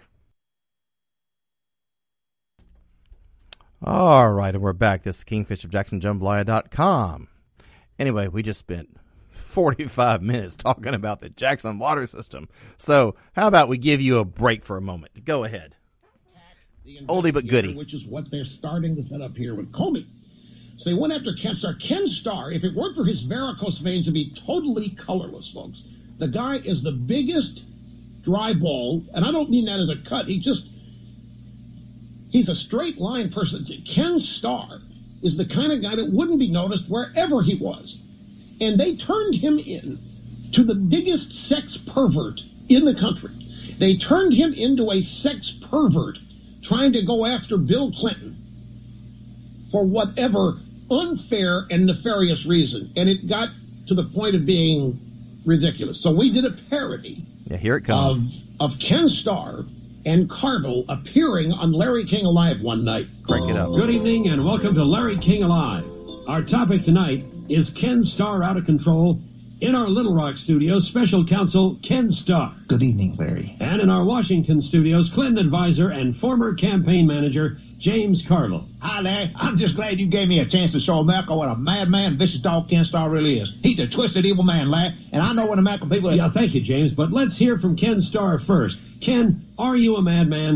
All right, and we're back. This is Kingfish of Jackson Jambalaya dot com. Anyway, we just spent forty-five minutes talking about the Jackson water system. So how about we give you a break for a moment? Go ahead. Oldie but goodie. Which is what they're starting to set up here with Comey. So they went after Ken Starr. Ken Starr, if it weren't for his varicose veins, would be totally colorless, folks. The guy is the biggest dry ball, and I don't mean that as a cut. He just, he's a straight line person. Ken Starr is the kind of guy that wouldn't be noticed wherever he was. And they turned him in to the biggest sex pervert in the country. They turned him into a sex pervert trying to go after Bill Clinton for whatever unfair and nefarious reason. And it got to the point of being ridiculous. So we did a parody yeah, here it comes. Of, of Ken Starr and Carville appearing on Larry King Alive one night. Crank it up. Good evening and welcome to Larry King Alive. Our topic tonight is Ken Starr out of control. In our Little Rock studios, special counsel Ken Starr. Good evening, Larry. And in our Washington studios, Clinton advisor and former campaign manager James Carville. Hi, Larry. I'm just glad you gave me a chance to show America what a madman, vicious dog Ken Starr really is. He's a twisted, evil man, Larry, and I know when the American people... Yeah, thank you, James, but let's hear from Ken Starr first. Ken, are you a madman?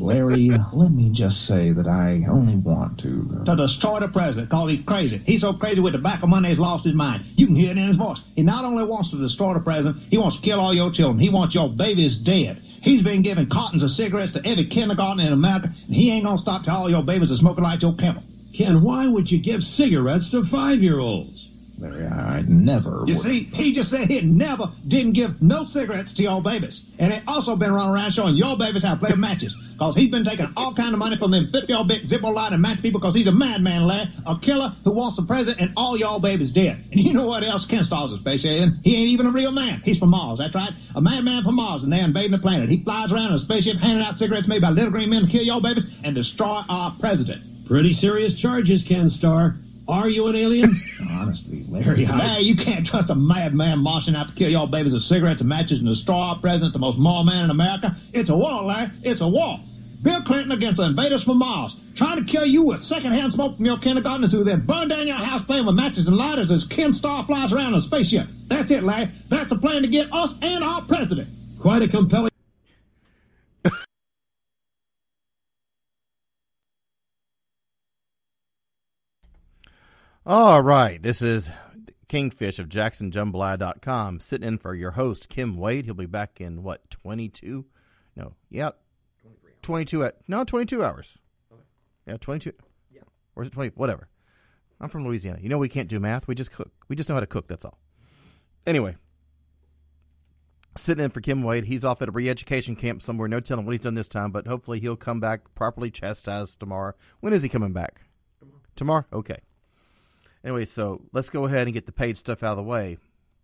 Larry, let me just say that I only want to... To destroy the president, because he's crazy. He's so crazy with tobacco money he's lost his mind. You can hear it in his voice. He not only wants to destroy the president, he wants to kill all your children. He wants your babies dead. He's been giving cartons of cigarettes to every kindergarten in America, and he ain't gonna stop till all your babies are smoking like Joe Campbell. Ken, why would you give cigarettes to five-year-olds? Larry, I never You would. See, he just said he never didn't give no cigarettes to your babies. And he also been running around showing your babies how to play with matches. Because he's been taking all kind of money from them fifty-year-old big Zippo light and match people because he's a madman, Larry. A killer who wants the president and all y'all babies dead. And you know what else Ken Starr's a space alien? He ain't even a real man. He's from Mars, that's right. A madman from Mars, and they're invading the planet. He flies around in a spaceship handing out cigarettes made by little green men to kill your babies and destroy our president. Pretty serious charges, Ken Starr. Are you an alien? Honestly, Larry, I... Larry, you can't trust a madman marching out to kill y'all babies with cigarettes and matches and destroy our president, the most moral man in America. It's a war, Larry. It's a war. Bill Clinton against the invaders from Mars, trying to kill you with secondhand smoke from your kindergartners who then burn down your house playing with matches and lighters as Ken Starr flies around in a spaceship. That's it, Larry. That's a plan to get us and our president. Quite a compelling... All right, this is Kingfish of Jackson Jambalaya dot com sitting in for your host, Kim Wade. He'll be back in, what, twenty-two? No, yeah, twenty-two, at, no, twenty-two hours. Okay. Yeah, twenty-two. Yeah. Or is it twenty? Whatever. I'm from Louisiana. You know we can't do math. We just cook. We just know how to cook, that's all. Anyway, sitting in for Kim Wade. He's off at a re-education camp somewhere. No telling what he's done this time, but hopefully he'll come back properly chastised tomorrow. When is he coming back? Tomorrow. Tomorrow? Okay. Anyway, so let's go ahead and get the paid stuff out of the way.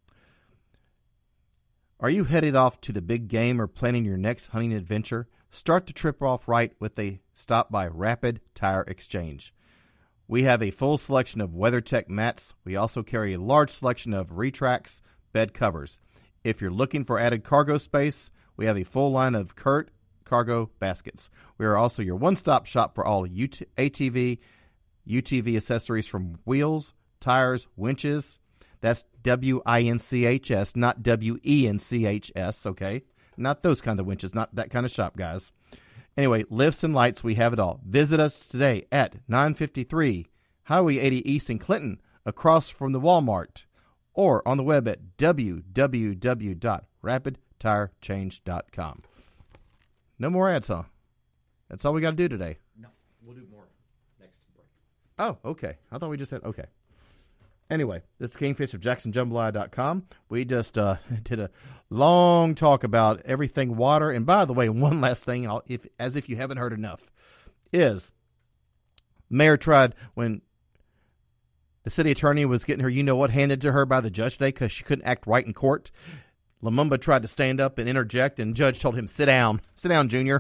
Are you headed off to the big game or planning your next hunting adventure? Start the trip off right with a stop by Rapid Tire Exchange. We have a full selection of WeatherTech mats. We also carry a large selection of Retrax bed covers. If you're looking for added cargo space, we have a full line of Kurt cargo baskets. We are also your one-stop shop for all A T V, U T V accessories from wheels, tires, winches. That's W I N C H S, not W E N C H S, okay? Not those kind of winches, not that kind of shop, guys. Anyway, lifts and lights, we have it all. Visit us today at nine fifty-three Highway eighty East in Clinton, across from the Walmart, or on the web at w w w dot rapid tire change dot com. No more ads, huh? That's all we got to do today. No, we'll do more. Oh, okay. I thought we just said, okay. Anyway, this is Kingfish of Jackson Jambalaya dot com. We just uh, did a long talk about everything water. And by the way, one last thing, I'll, if as if you haven't heard enough, is Mayor tried, when the city attorney was getting her, you know what, handed to her by the judge today because she couldn't act right in court. Lumumba tried to stand up and interject, and the judge told him, sit down. Sit down, Junior.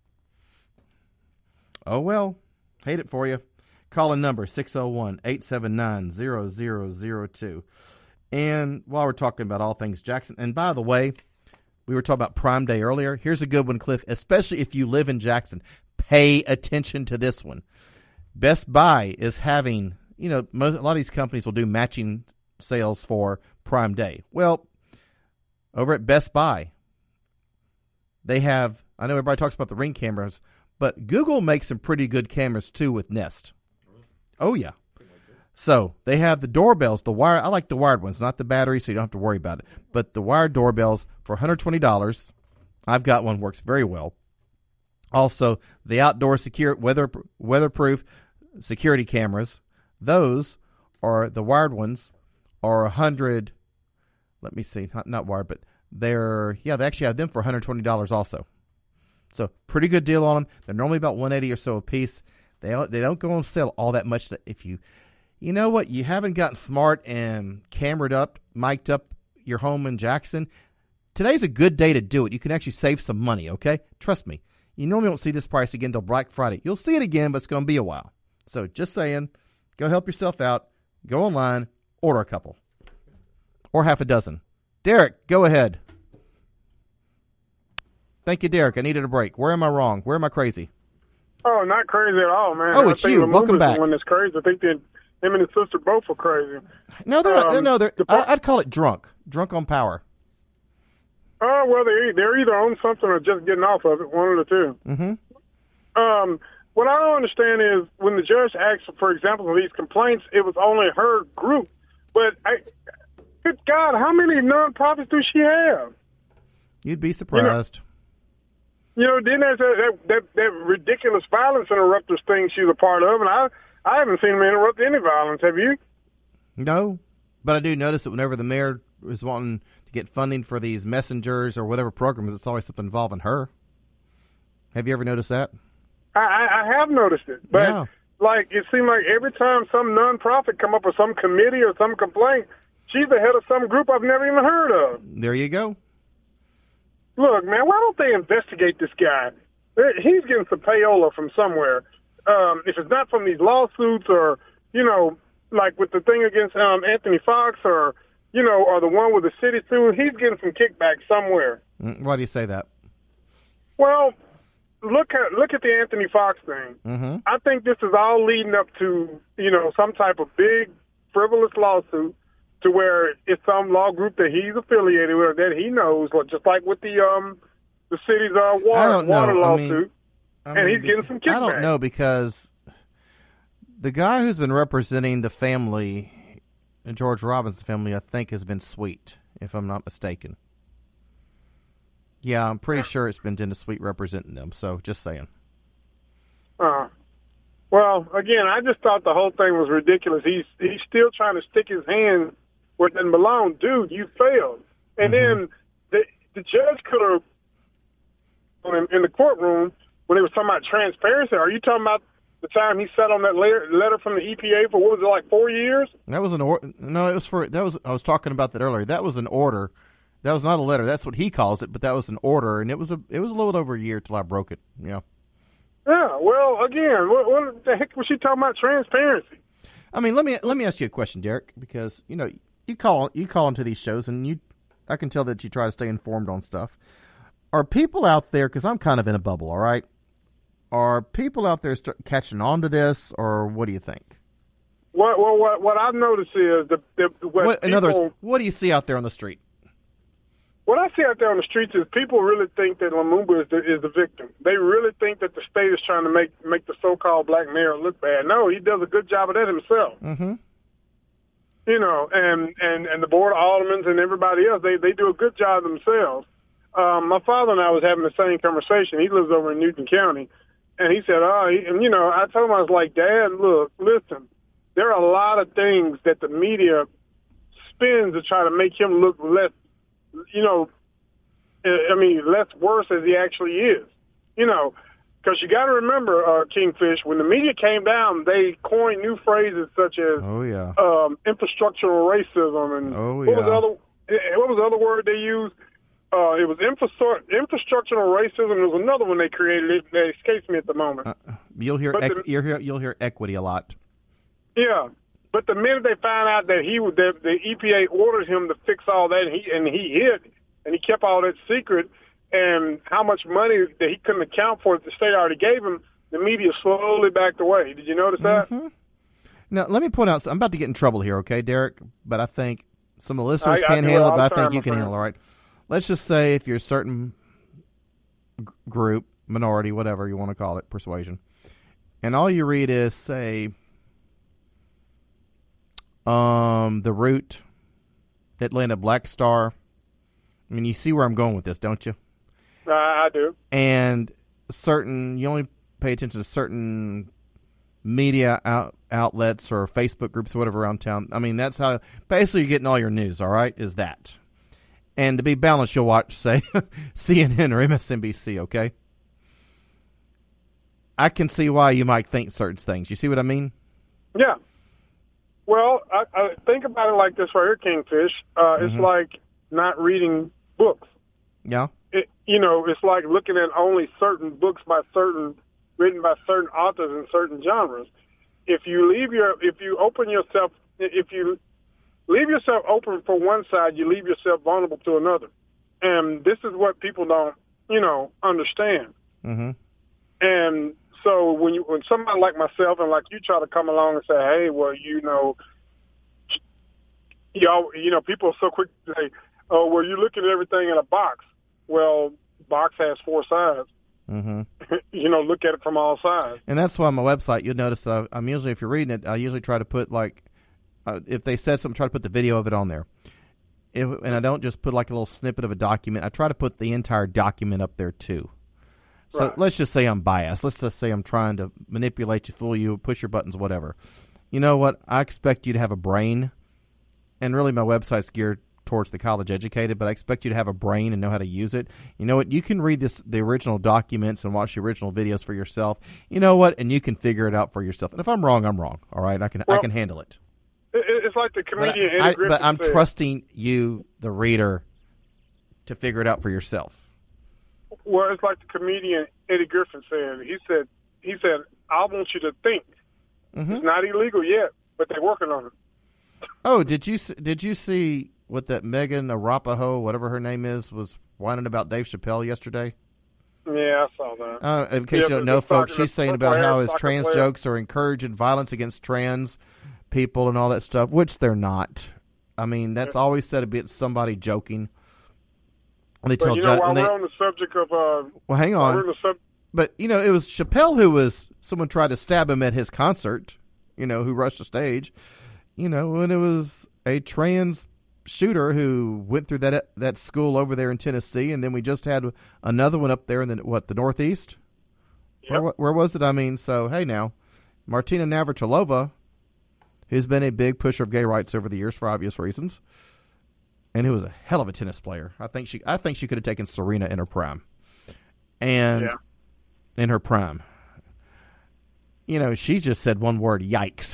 Oh, well, hate it for you. Call in number six oh one, eight seven nine, zero zero zero two. And while we're talking about all things Jackson, and by the way, we were talking about Prime Day earlier. Here's a good one, Cliff, especially if you live in Jackson. Pay attention to this one. Best Buy is having, you know, most, a lot of these companies will do matching sales for Prime Day. Well, over at Best Buy, they have, I know everybody talks about the Ring cameras, but Google makes some pretty good cameras too with Nest. Oh, yeah. So they have the doorbells, the wire. I like the wired ones, not the battery, so you don't have to worry about it. But the wired doorbells for one hundred twenty dollars. I've got one, works very well. Also, the outdoor secure weather weatherproof security cameras. Those are the wired ones are one hundred. Let me see, not, not wired, but they're yeah. They actually have them for one hundred twenty dollars also. So pretty good deal on them. They're normally about one hundred eighty dollars or so a piece. They don't, they don't go on sale all that much. If you, you know what, you haven't gotten smart and camered up, mic'd up your home in Jackson, today's a good day to do it. You can actually save some money, okay? Trust me. You normally won't see this price again until Black Friday. You'll see it again, but it's going to be a while. So just saying, go help yourself out. Go online, order a couple. Or half a dozen. Derek, go ahead. Thank you, Derek. I needed a break. Where am I wrong? Where am I crazy? Oh, not crazy at all, man. Oh, I it's think you. Lumumba's Welcome back. The one that's crazy. I think that him and his sister both are crazy. No, they're um, not. No, they're. the I, I'd call it drunk. Drunk on power. Oh, well, they're, they're either on something or just getting off of it, one of the two. Mm-hmm. Um, what I don't understand is when the judge asked, for example, for these complaints, it was only her group. But, I, good God, how many nonprofits do she have? You'd be surprised. You know, you know then there's that, that, that ridiculous violence interrupters thing she's a part of, and I, I haven't seen them interrupt any violence. Have you? No, but I do notice that whenever the mayor is wanting to get funding for these messengers or whatever programs, it's always something involving her. Have you ever noticed that? I, I have noticed it, but Yeah. like it seemed like every time some nonprofit come up with some committee or some complaint, she's the head of some group I've never even heard of. There you go. Look, man, why don't they investigate this guy? He's getting some payola from somewhere. Um, if it's not from these lawsuits or, you know, like with the thing against um, Anthony Fox or, you know, or the one with the city suit, he's getting some kickback somewhere. Why do you say that? Well, look at look at the Anthony Fox thing. Mm-hmm. I think this is all leading up to, you know, some type of big frivolous lawsuit to where it's some law group that he's affiliated with or that he knows, just like with the um the city's uh, water, I don't know. water I lawsuit, mean, I and mean, he's getting some kickback. I don't know because the guy who's been representing the family, George Robinson family, I think has been Sweet, if I'm not mistaken. Yeah, I'm pretty sure it's been Dennis Sweet representing them, so just saying. Uh, well, again, I just thought the whole thing was ridiculous. He's he's still trying to stick his hand where it didn't belong. Dude, you failed. And Mm-hmm. then the the judge could have, in, in the courtroom, when they were talking about transparency, are you talking about the time he sat on that letter, letter from the E P A for, what was it, like four years? That was an order. No, it was for, that was, I was talking about that earlier. That was an order. That was not a letter. That's what he calls it, but that was an order, and it was a it was a little over a year till I broke it. Yeah. Yeah. Well, again, what, what the heck was she talking about transparency? I mean, let me let me ask you a question, Derek, because you know you call you call into these shows, and you I can tell that you try to stay informed on stuff. Are people out there? Because I'm kind of in a bubble. All right. Are people out there start catching on to this, or what do you think? What what what, what I've noticed is the, the what, What, in people, other words, what do you see out there on the street? What I see out there on the streets is people really think that Lumumba is the, is the victim. They really think that the state is trying to make make the so-called black mayor look bad. No, he does a good job of that himself. Mm-hmm. You know, and, and, and the board of aldermen and everybody else, they, they do a good job themselves. Um, my father and I was having the same conversation. He lives over in Newton County. And he said, oh, he, and, you know, I told him, I was like, Dad, look, listen, there are a lot of things that the media spins to try to make him look less, you know, I mean, less worse as he actually is, you know, because you got to remember, uh, Kingfish, when the media came down, they coined new phrases such as Oh yeah. um, infrastructural racism and Oh, what was yeah. the other what was the other word they used? Uh, it was infrastru- infrastructural racism. There was another one they created. It, that escapes me at the moment. Uh, you'll hear But equ- the- you'll hear you'll hear equity a lot. Yeah, but the minute they found out that he would, that the E P A ordered him to fix all that, and he and he hid and he kept all that secret, and how much money that he couldn't account for that the state already gave him, the media slowly backed away. Did you notice that? Mm-hmm. Now, let me point out. I'm about to get in trouble here, okay, Derek? But I think some of the listeners I- I can't do it handle it, all but I the think time, you my can friend. handle it, all right? Let's just say if you're a certain g- group, minority, whatever you want to call it, persuasion, and all you read is, say, um, the route that landed Black Star. I mean, you see where I'm going with this, don't you? I, I do. And certain, you only pay attention to certain media out, outlets or Facebook groups or whatever around town. I mean, that's how basically you're getting all your news, all right, is that. And to be balanced, you'll watch, say, C N N or M S N B C, okay? I can see why you might think certain things. You see what I mean? Yeah. Well, I, I think about it like this right here, Kingfish. Uh, It's Mhm. like not reading books. Yeah? It, you know, it's like looking at only certain books by certain, written by certain authors in certain genres. If you leave your, if you open yourself, if you leave yourself open for one side, you leave yourself vulnerable to another. And this is what people don't, you know, understand. Mm-hmm. And so when you, when somebody like myself and like you try to come along and say, hey, well, you know, y'all, you know, people are so quick to say, oh, well, you're looking at everything in a box. Well, box has four sides. mm-hmm. you know, look at it from all sides. And that's why on my website, you'll notice that I'm usually, if you're reading it, I usually try to put like, uh, if they said something, try to put the video of it on there. If, and I don't just put like a little snippet of a document. I try to put the entire document up there too. So right. Let's just say I'm biased. Let's just say I'm trying to manipulate you, fool you, push your buttons, whatever. You know what? I expect you to have a brain. And really my website's geared towards the college educated, but I expect you to have a brain and know how to use it. You know what? You can read this, the original documents and watch the original videos for yourself. You know what? And you can figure it out for yourself. And if I'm wrong, I'm wrong. All right? I can, well, I can handle it. It's like the comedian But, I, Eddie Griffin but I'm said. trusting you, the reader, to figure it out for yourself. Well, it's like the comedian Eddie Griffin said. He said, he said, I want you to think. Mm-hmm. It's not illegal yet, but they're working on it. Oh, did you did you see what that Megan Arapaho, whatever her name is, was whining about Dave Chappelle yesterday? Yeah, I saw that. Uh, in case yeah, you don't know, folks, soccer, she's saying about how his trans player. jokes are encouraging violence against trans people and all that stuff, which they're not. I mean, that's yeah. always said a bit somebody joking. And they but tell you know, ju- while they, we're on the subject of... Uh, well, hang on. Sub- but, you know, it was Chappelle who was... Someone tried to stab him at his concert, you know, who rushed the stage. You know, when it was a trans shooter who went through that that school over there in Tennessee, and then we just had another one up there in the, what, the Northeast? Yep. Where, where was it? I mean, so, hey now, Martina Navratilova, who's been a big pusher of gay rights over the years for obvious reasons, and who was a hell of a tennis player. I think she I think she could have taken Serena in her prime. And yeah. in her prime. You know, she just said one word, yikes.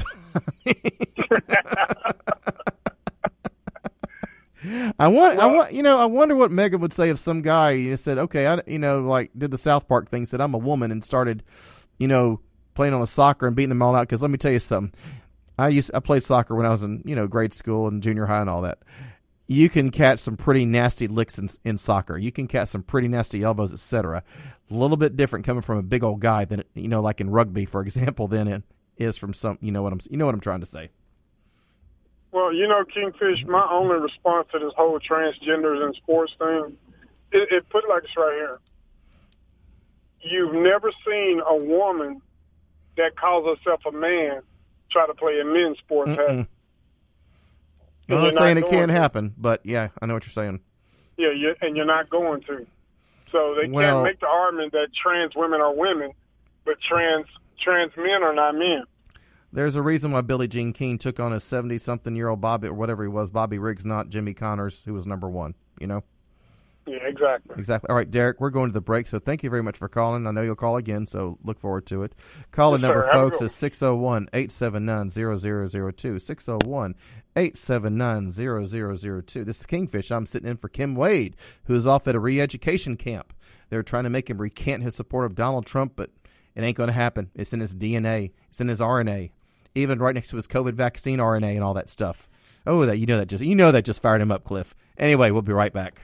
I want, I want, you know, I wonder what Megan would say if some guy you know, said, okay, I, you know, like did the South Park thing, said I'm a woman and started, you know, playing on a soccer and beating them all out. Because let me tell you something, I used, I played soccer when I was in, you know, grade school and junior high and all that. You can catch some pretty nasty licks in, in soccer. You can catch some pretty nasty elbows, et cetera. A little bit different coming from a big old guy than, you know, like in rugby, for example, than it is from some, you know what I'm, you know what I'm trying to say. Well, you know, Kingfish, my only response to this whole transgenders and sports thing, it, it put it like this right here. You've never seen a woman that calls herself a man try to play a men's sport. I'm not saying it can't happen, but yeah, I know what you're saying. Yeah, you, and you're not going to. So they well, can't make the argument that trans women are women, but trans trans men are not men. There's a reason why Billie Jean King took on a seventy-something-year-old Bobby, or whatever he was, Bobby Riggs, not Jimmy Connors, who was number one, you know? Yeah, exactly. Exactly. All right, Derek, we're going to the break, so thank you very much for calling. I know you'll call again, so look forward to it. Call-in yes, number, sir. folks, is six oh one, eight seven nine, zero zero zero two, six oh one, eight seven nine, zero zero zero two. This is Kingfish. I'm sitting in for Kim Wade, who is off at a re-education camp. They're trying to make him recant his support of Donald Trump, but it ain't going to happen. It's in his D N A. It's in his R N A. Even right next to his COVID vaccine R N A and all that stuff. Oh, that you know that just you know that just fired him up, Cliff. Anyway, we'll be right back.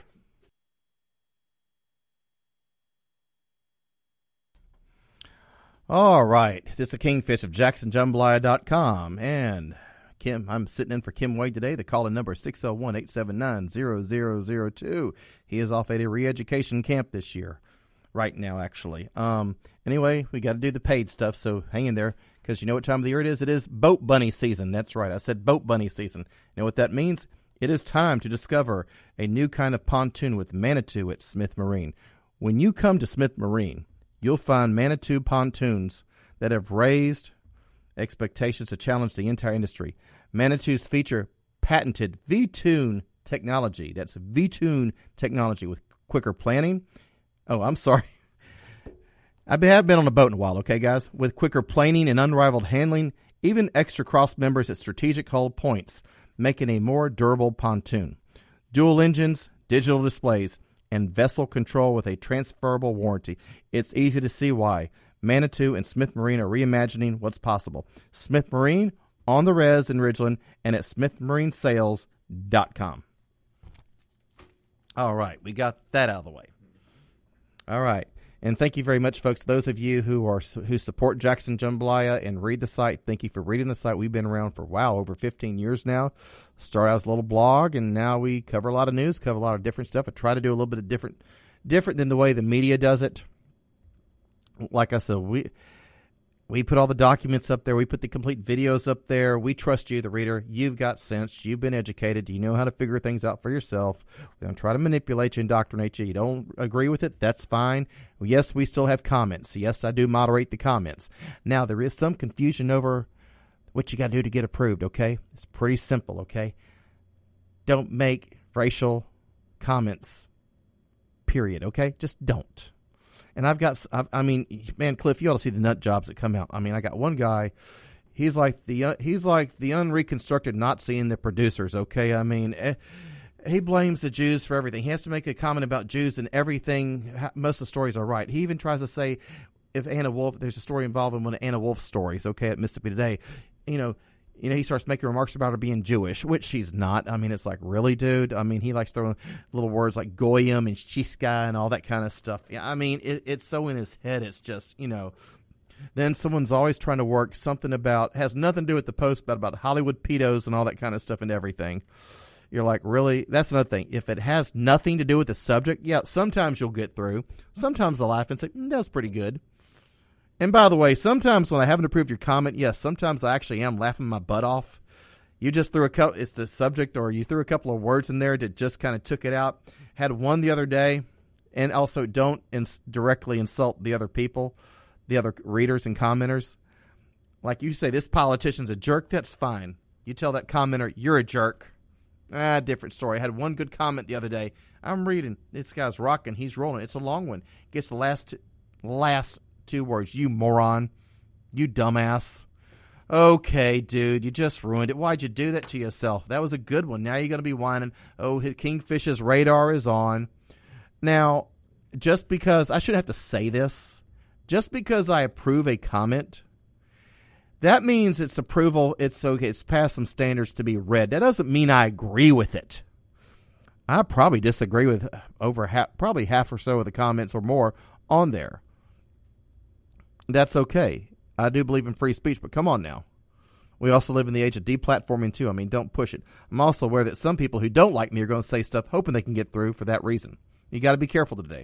All right, this is Kingfish of Jackson Jambalaya dot com, and Kim, I'm sitting in for Kim Wade today. The call-in number is six oh one, eight seven nine, zero zero zero two. He is off at a re-education camp this year, right now, actually. Um, anyway, we got to do the paid stuff, so hang in there, because you know what time of the year it is? It is boat bunny season. That's right, I said boat bunny season. You know what that means? It is time to discover a new kind of pontoon with Manitou at Smith Marine. When you come to Smith Marine, you'll find Manitou pontoons that have raised expectations to challenge the entire industry. Manitous feature patented V-Tune technology. That's V-Tune technology with quicker planning. Oh, I'm sorry. I have been on a boat in a while, okay, guys? With quicker planing and unrivaled handling, even extra cross members at strategic hull points, making a more durable pontoon. Dual engines, digital displays, and vessel control with a transferable warranty. It's easy to see why. Manitou and Smith Marine are reimagining what's possible. Smith Marine, on the res in Ridgeland, and at smith marine sales dot com. All right, we got that out of the way. All right, and thank you very much, folks. Those of you who are who support Jackson Jambalaya and read the site, thank you for reading the site. We've been around for, wow, over fifteen years now. Started out as a little blog, and now we cover a lot of news, cover a lot of different stuff. I try to do a little bit of different, different than the way the media does it. like I said, we we put all the documents up there. We put the complete videos up there. We trust you, the reader. You've got sense. You've been educated. You know how to figure things out for yourself. We don't try to manipulate you, indoctrinate you. You don't agree with it, that's fine. Yes, we still have comments. Yes, I do moderate the comments. Now, there is some confusion over what you got to do to get approved, okay? It's pretty simple, okay? Don't make racial comments, period, okay? Just don't. And I've got, I mean, man, Cliff, you ought to see the nut jobs that come out. I mean, I got one guy, he's like the uh, he's like the unreconstructed Nazi in the producers, okay? I mean, eh, he blames the Jews for everything. He has to make a comment about Jews and everything. Most of the stories are right. He even tries to say, if Anna Wolf, there's a story involving one of Anna Wolf's stories, okay, at Mississippi Today, you know, You know, he starts making remarks about her being Jewish, which she's not. I mean, it's like, really, dude? I mean, he likes throwing little words like goyim and shiska and all that kind of stuff. Yeah, I mean, it, it's so in his head, it's just, you know. Then someone's always trying to work something about, has nothing to do with the post, but about Hollywood pedos and all that kind of stuff and everything. You're like, really? That's another thing. If it has nothing to do with the subject, yeah, sometimes you'll get through. Sometimes I'll laugh and say, mm, that's pretty good. And by the way, sometimes when I haven't approved your comment, yes, sometimes I actually am laughing my butt off. You just threw a couple, it's the subject, or you threw a couple of words in there that just kind of took it out. Had one the other day, and also don't ins- directly insult the other people, the other readers and commenters. Like you say, this politician's a jerk, that's fine. You tell that commenter, you're a jerk. Ah, different story. I had one good comment the other day. I'm reading, this guy's rocking, he's rolling. It's a long one. Gets the last, last two words, you moron, you dumbass. Okay, dude, you just ruined it. Why'd you do that to yourself? That was a good one. Now you're going to be whining, oh, Kingfish's radar is on. Now, just because, I shouldn't have to say this, just because I approve a comment, that means it's approval, it's okay, it's past some standards to be read. That doesn't mean I agree with it. I probably disagree with over half, probably half or so of the comments or more on there. That's okay. I do believe in free speech, but come on now. We also live in the age of deplatforming too. I mean, don't push it. I'm also aware that some people who don't like me are going to say stuff hoping they can get through for that reason. You got to be careful today.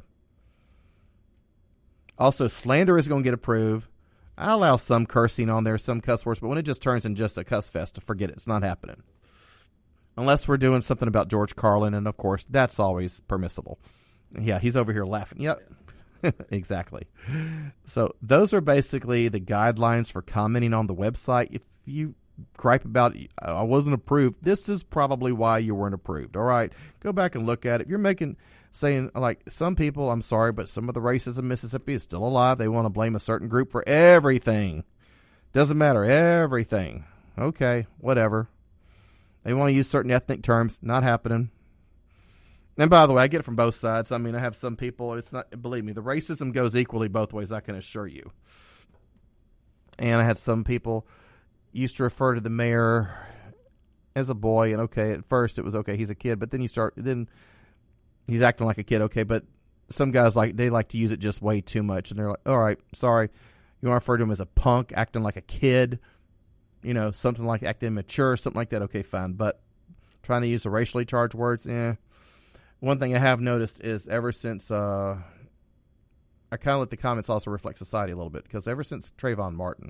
Also, slander is going to get approved. I allow some cursing on there, some cuss words, but when it just turns into just a cuss fest, forget it. It's not happening. Unless we're doing something about George Carlin, and of course, that's always permissible. Yeah, he's over here laughing. Yep. Exactly. So those are basically the guidelines for commenting on the website. If you gripe about I wasn't approved, this is probably why you weren't approved. All right, go back and look at it. If you're making saying like some people, I'm sorry, but some of the racists in Mississippi is still alive. They want to blame a certain group for everything. Doesn't matter, everything. Okay, whatever. They want to use certain ethnic terms. Not happening. And by the way, I get it from both sides. I mean, I have some people, it's not, believe me, the racism goes equally both ways, I can assure you. And I had some people used to refer to the mayor as a boy, and okay, at first it was okay, he's a kid, but then you start, then he's acting like a kid, okay, but some guys, like, they like to use it just way too much, and they're like, all right, sorry, you want to refer to him as a punk, acting like a kid, you know, something like acting mature, something like that, okay, fine, but trying to use the racially charged words, eh. One thing I have noticed is ever since, uh, I kind of let the comments also reflect society a little bit, because ever since Trayvon Martin,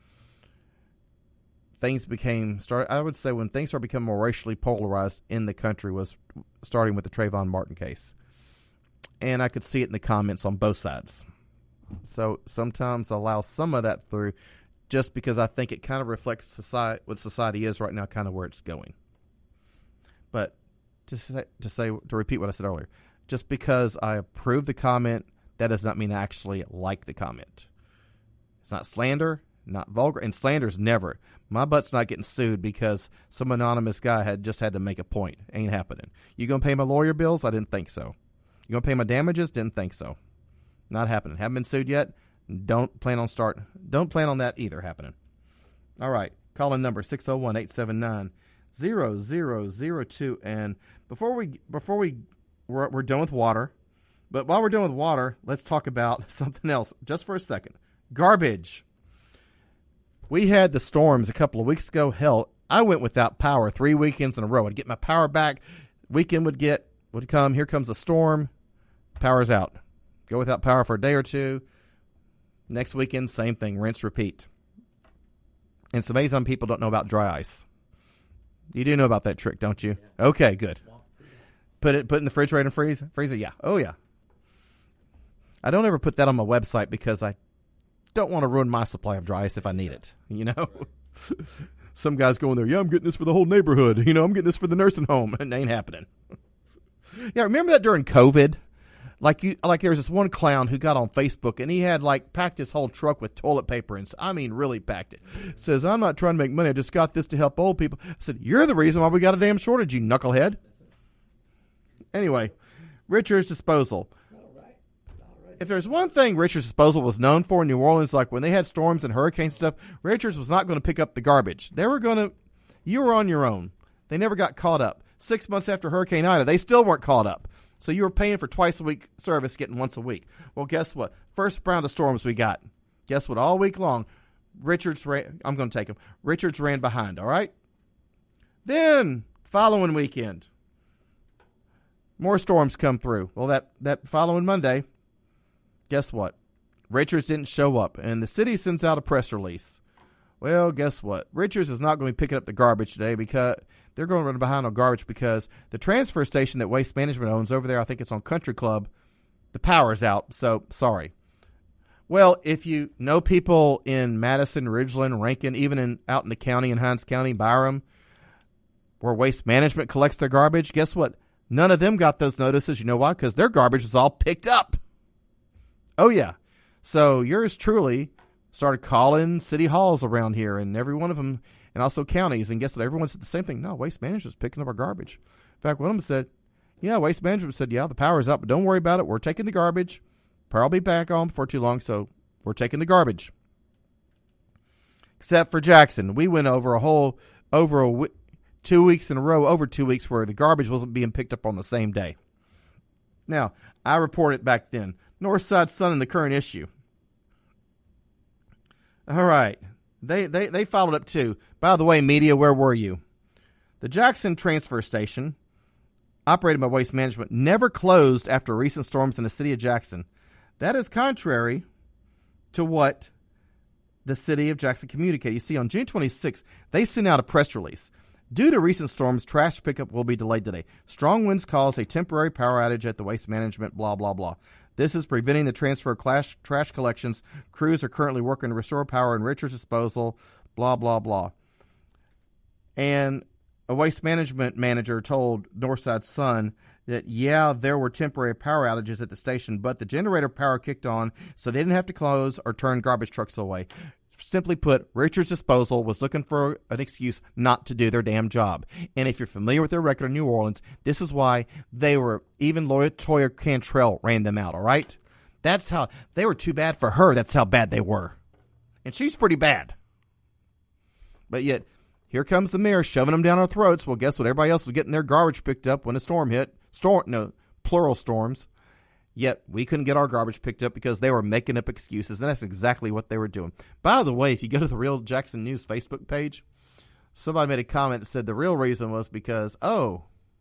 things became, start. I would say when things started becoming more racially polarized in the country was starting with the Trayvon Martin case. And I could see it in the comments on both sides. So sometimes I allow some of that through just because I think it kind of reflects society, what society is right now, kind of where it's going. But To say, to say, to repeat what I said earlier, just because I approve the comment, that does not mean I actually like the comment. It's not slander, not vulgar, and slander's never. My butt's not getting sued because some anonymous guy had just had to make a point. Ain't happening. You gonna pay my lawyer bills? I didn't think so. You gonna pay my damages? Didn't think so. Not happening. Haven't been sued yet. Don't plan on start. Don't plan on that either happening. All right. Call in number six oh one, eight seven nine, zero zero zero two. And before we before we we're, we're done with water, but while we're done with water, let's talk about something else just for a second. Garbage. We had the storms a couple of weeks ago. Hell, I went without power three weekends in a row. I'd get my power back. Weekend would get would come. Here comes a storm. Power's out. Go without power for a day or two. Next weekend, same thing. Rinse, repeat. And it's amazing people don't know about dry ice. You do know about that trick, don't you? Yeah. Okay, good. Put it put it in the refrigerator and freeze freezer. Yeah. Oh yeah. I don't ever put that on my website because I don't want to ruin my supply of dry ice if I need it. You know. Some guys go in there. Yeah, I'm getting this for the whole neighborhood. You know, I'm getting this for the nursing home. It ain't happening. Yeah, remember that during COVID? Like you, like there was this one clown who got on Facebook and he had like packed his whole truck with toilet paper and I mean really packed it. Says, I'm not trying to make money. I just got this to help old people. I said, you're the reason why we got a damn shortage, you knucklehead. Anyway, Richard's Disposal. If there's one thing Richard's Disposal was known for in New Orleans, like when they had storms and hurricanes and stuff, Richard's was not going to pick up the garbage. They were going to, you were on your own. They never got caught up. Six months after Hurricane Ida, they still weren't caught up. So you were paying for twice a week service, getting once a week. Well, guess what? First round of storms we got. Guess what? All week long, Richards ran, I'm going to take him. Richards ran behind, all right? Then, following weekend, more storms come through. Well, that, that following Monday, guess what? Richards didn't show up, and the city sends out a press release. Well, guess what? Richards is not going to be picking up the garbage today because they're going to run behind on garbage because the transfer station that Waste Management owns over there, I think it's on Country Club, the power's out, so sorry. Well, if you know people in Madison, Ridgeland, Rankin, even in out in the county, in Hinds County, Byram, where Waste Management collects their garbage, guess what? None of them got those notices. You know why? Because their garbage was all picked up. Oh, yeah. So yours truly started calling city halls around here, and every one of them, and also counties, and guess what? Everyone said the same thing. No, Waste Management's picking up our garbage. In fact, one of them said, yeah, Waste Management said, yeah, the power's up, but don't worry about it. We're taking the garbage. Probably back on before too long, so we're taking the garbage. Except for Jackson. We went over a whole, over a w- two weeks in a row, over two weeks where the garbage wasn't being picked up on the same day. Now, I reported back then. Northside Sun in the current issue. All right. They, they they followed up too. By the way, media, where were you? The Jackson transfer station, operated by Waste Management, never closed after recent storms in the city of Jackson. That is contrary to what the city of Jackson communicated. You see, on June twenty-sixth, they sent out a press release. Due to recent storms, trash pickup will be delayed today. Strong winds cause a temporary power outage at the Waste Management, blah, blah, blah. This is preventing the transfer of clash, trash collections. Crews are currently working to restore power in Richards Disposal, blah, blah, blah. And a Waste Management manager told Northside Sun that, yeah, there were temporary power outages at the station, but the generator power kicked on, so they didn't have to close or turn garbage trucks away. Simply put, Richards Disposal was looking for an excuse not to do their damn job. And if you're familiar with their record in New Orleans, this is why they were, even Toya Cantrell ran them out, all right? That's how, they were too bad for her. That's how bad they were. And she's pretty bad. But yet, here comes the mayor shoving them down our throats. Well, guess what? Everybody else was getting their garbage picked up when a storm hit. Storm, no, plural storms. Yet we couldn't get our garbage picked up because they were making up excuses, and that's exactly what they were doing. By the way, if you go to the Real Jackson News Facebook page, somebody made a comment that said the real reason was because, oh,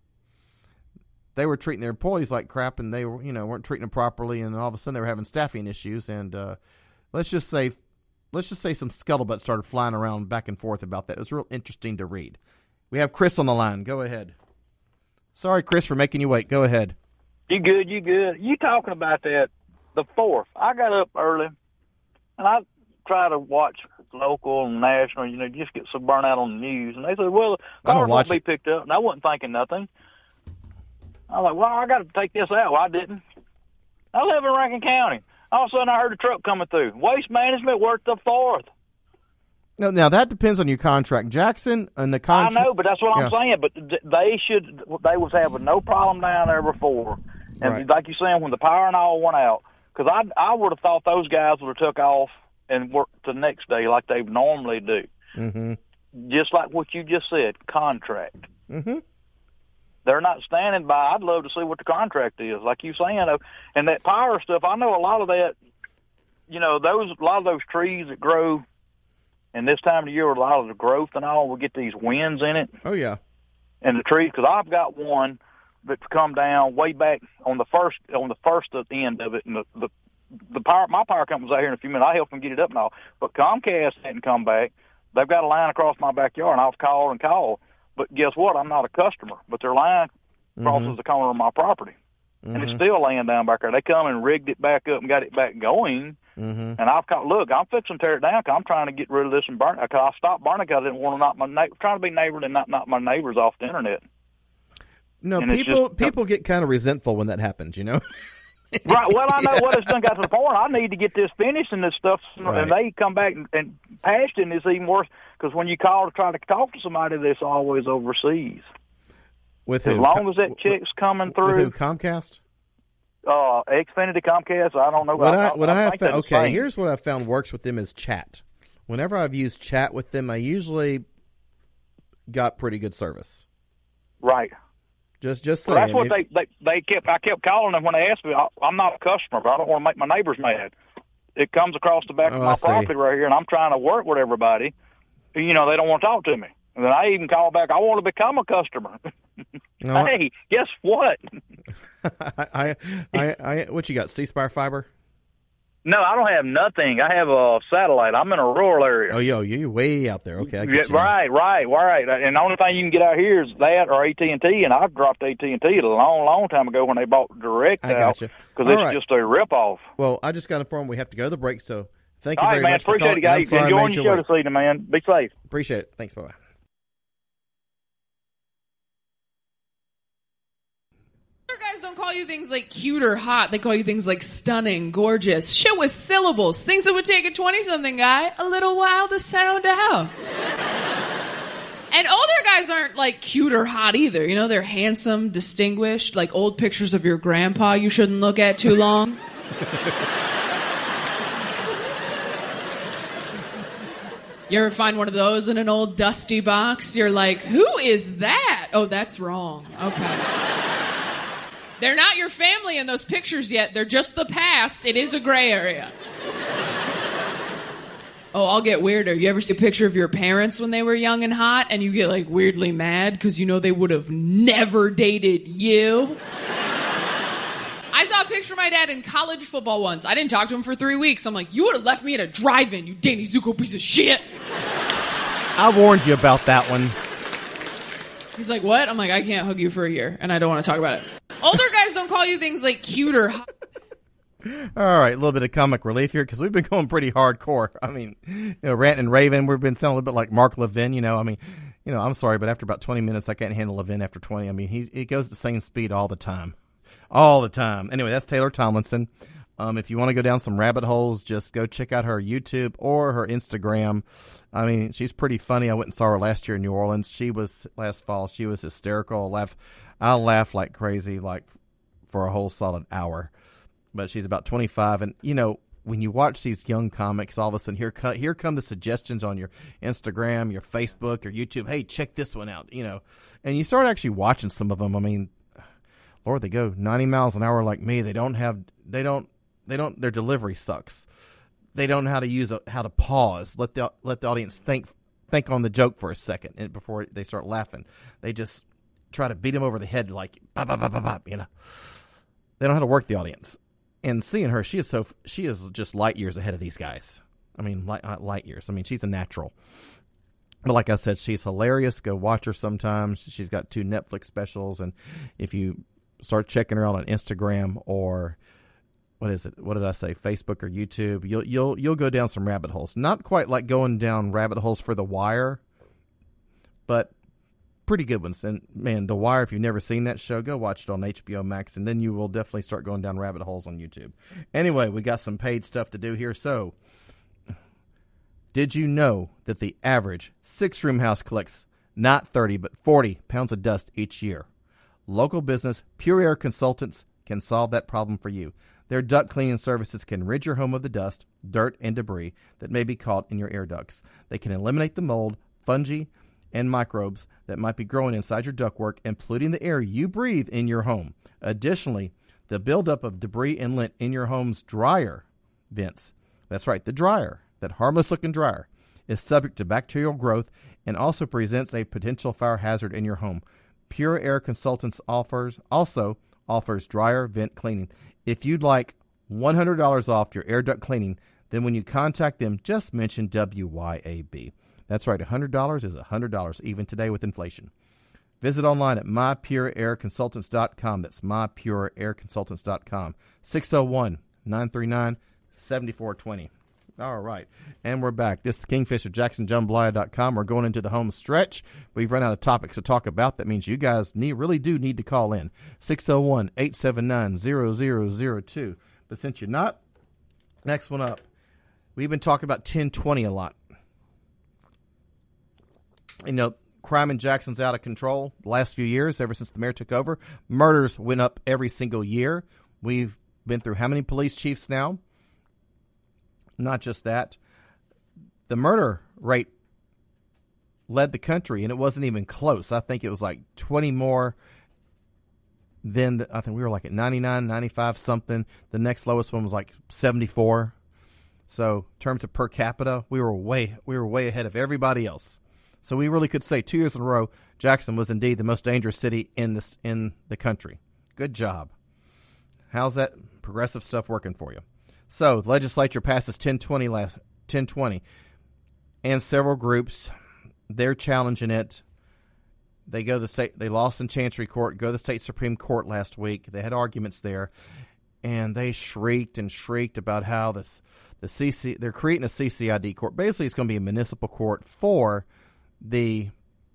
they were treating their employees like crap, and they were, you know, weren't treating them properly, and all of a sudden they were having staffing issues. And uh, let's just say, let's just say some scuttlebutt started flying around back and forth about that. It was real interesting to read. We have Chris on the line. Go ahead. Sorry, Chris, for making you wait. Go ahead. You good, you good. You talking about that, the fourth. I got up early, and I try to watch local and national, you know, just get some burnout on the news. And they said, well, the cars won't be picked up. And I wasn't thinking nothing. I was like, well, I got to take this out. Well, I didn't. I live in Rankin County. All of a sudden, I heard a truck coming through. Waste Management worked the fourth. No, now, that depends on your contract. Jackson and the contract. I know, but that's what yeah. I'm saying. But they should, they was having no problem down there before. And right. like you're saying, when the power and all went out, because I, I would have thought those guys would have took off and worked the next day like they normally do. Mm-hmm. Just like what you just said, contract. Mm-hmm. They're not standing by. I'd love to see what the contract is, like you saying. And that power stuff, I know a lot of that, you know, those a lot of those trees that grow and this time of the year, a lot of the growth and all, will get these winds in it. Oh, yeah. And the trees, because I've got one that's come down way back on the first on the first end of it, and the, the the power, my power company's out here in a few minutes. I help them get it up and all. But Comcast hadn't come back. They've got a line across my backyard, and I've called and called. But guess what? I'm not a customer. But their line crosses Mm-hmm. the corner of my property. Mm-hmm. And it's still laying down back there. They come and rigged it back up and got it back going. Mm-hmm. And I've called, look, I'm fixing to tear it down because I'm trying to get rid of this and burn it. Because I stopped burning because I didn't want to knock my neighbor, trying to be neighborly and not knock my neighbors off the internet. No, And it's people just- people get kind of resentful when that happens, you know? Right. Well, I know what it's done got to the point. I need to get this finished and this stuff, Right. and they come back and, and patched it, and it's even worse because when you call to try to talk to somebody, that's always overseas. With As who? long Com- as that check's coming With who? through, Comcast? uh, Xfinity, Comcast, I don't know. What I, what I, have think found, they're the okay, same. here's what I've found works with them is chat. Whenever I've used chat with them, I usually got pretty good service. Right. Just just Well, saying. that's what If- they, they they kept. I kept calling them when they asked me. I, I'm not a customer, but I don't want to make my neighbors mad. It comes across the back Oh, of I my see. property right here, and I'm trying to work with everybody. You know, they don't want to talk to me. And then I even call back. I want to become a customer. No, Hey, guess what? I, I, I, I, what you got? C Spire fiber? No, I don't have nothing. I have a satellite. I'm in a rural area. Oh, yo, you're way out there. Okay, I Yeah, get you now. right, right, right. And the only thing you can get out here is that or A T and T, and I've dropped A T and T a long, long time ago when they bought Direct I out gotcha. because All it's right. just a ripoff. Well, I just got informed we have to go to the break, so thank you All very right, man. much for Appreciate calling. it, I'm guys. sorry I Enjoying made your you show wait. this evening, man. Be safe. Appreciate it. Thanks. Bye-bye. Other guys don't call you things like cute or hot. They call you things like stunning, gorgeous, shit with syllables, things that would take a twenty-something guy a little while to sound out. And older guys aren't like cute or hot either. You know, they're handsome, distinguished, like old pictures of your grandpa you shouldn't look at too long. You ever find one of those in an old dusty box? You're like, who is that? Oh, that's wrong. Okay. They're not your family in those pictures yet. They're just the past. It is a gray area. Oh, I'll get weirder. You ever see a picture of your parents when they were young and hot and you get like weirdly mad because you know they would have never dated you? I saw a picture of my dad in college football once. I didn't talk to him for three weeks. I'm like, you would have left me at a drive-in, you Danny Zuko piece of shit. I warned you about that one. He's like, what? I'm like, I can't hug you for a year, and I don't want to talk about it. Older guys don't call you things like cute or hot. All right, a little bit of comic relief here because we've been going pretty hardcore. I mean, you know, Rant and Raven, we've been sounding a little bit like Mark Levin. You know, I mean, you know, I'm sorry, but after about twenty minutes, I can't handle Levin after twenty. I mean, he he goes the same speed all the time, all the time. Anyway, that's Taylor Tomlinson. Um, if you want to go down some rabbit holes, just go check out her YouTube or her Instagram. I mean, she's pretty funny. I went and saw her last year in New Orleans. She was last fall. She was hysterical. I laugh, I laughed like crazy, like for a whole solid hour. But she's about twenty-five, and you know, when you watch these young comics, all of a sudden here come here come the suggestions on your Instagram, your Facebook, your YouTube. Hey, check this one out, you know, and you start actually watching some of them. I mean, Lord, they go ninety miles an hour like me. They don't have, they don't, they don't. Their delivery sucks. They don't know how to use a, how to pause. Let the let the audience think think on the joke for a second and before they start laughing. They just try to beat them over the head like bop, bop, bop, bop, bop, you know. They don't know how to work the audience. And seeing her, she is so she is just light years ahead of these guys. I mean, light, light years. I mean, she's a natural. But like I said, she's hilarious. Go watch her sometimes. She's got two Netflix specials, and if you start checking her out on Instagram or what is it? What did I say? Facebook or YouTube? You'll you'll you'll go down some rabbit holes. Not quite like going down rabbit holes for The Wire, but pretty good ones. And man, The Wire, if you've never seen that show, go watch it on H B O Max, and then you will definitely start going down rabbit holes on YouTube. Anyway, we got some paid stuff to do here. So, did you know that the average six-room house collects not thirty, but forty pounds of dust each year? Local business Pure Air Consultants can solve that problem for you. Their duct cleaning services can rid your home of the dust, dirt, and debris that may be caught in your air ducts. They can eliminate the mold, fungi, and microbes that might be growing inside your ductwork and polluting the air you breathe in your home. Additionally, the buildup of debris and lint in your home's dryer vents, that's right, the dryer, that harmless-looking dryer, is subject to bacterial growth and also presents a potential fire hazard in your home. Pure Air Consultants offers also offers dryer vent cleaning. If you'd like one hundred dollars off your air duct cleaning. Then when you contact them, just mention W Y A B. That's right, one hundred dollars is one hundred dollars, even today with inflation. Visit online at my pure air consultants dot com. That's my pure air consultants dot com. six oh one, nine three nine, seven four two oh. All right, and we're back. This is Kingfisher, Jackson Jambalaya dot com. We're going into the home stretch. We've run out of topics to talk about. That means you guys need, really do need to call in. six oh one, eight seven nine, zero zero zero two. But since you're not, next one up. We've been talking about ten twenty a lot. You know, crime in Jackson's out of control the last few years, ever since the mayor took over. Murders went up every single year. We've been through how many police chiefs now? Not just that. The murder rate led the country, and it wasn't even close. I think it was like twenty more than, the, I think we were like at ninety-nine, ninety-five something. The next lowest one was like seventy-four. So in terms of per capita, we were way we were way ahead of everybody else. So we really could say two years in a row, Jackson was indeed the most dangerous city in this in the country. Good job. How's that progressive stuff working for you? So the legislature passes ten twenty last ten twenty, and several groups, they're challenging it. They go to the state. They lost in Chancery Court. Go to the state Supreme Court last week. They had arguments there, and they shrieked and shrieked about how this. The C C, they're creating a C C I D court. Basically, it's going to be a municipal court for the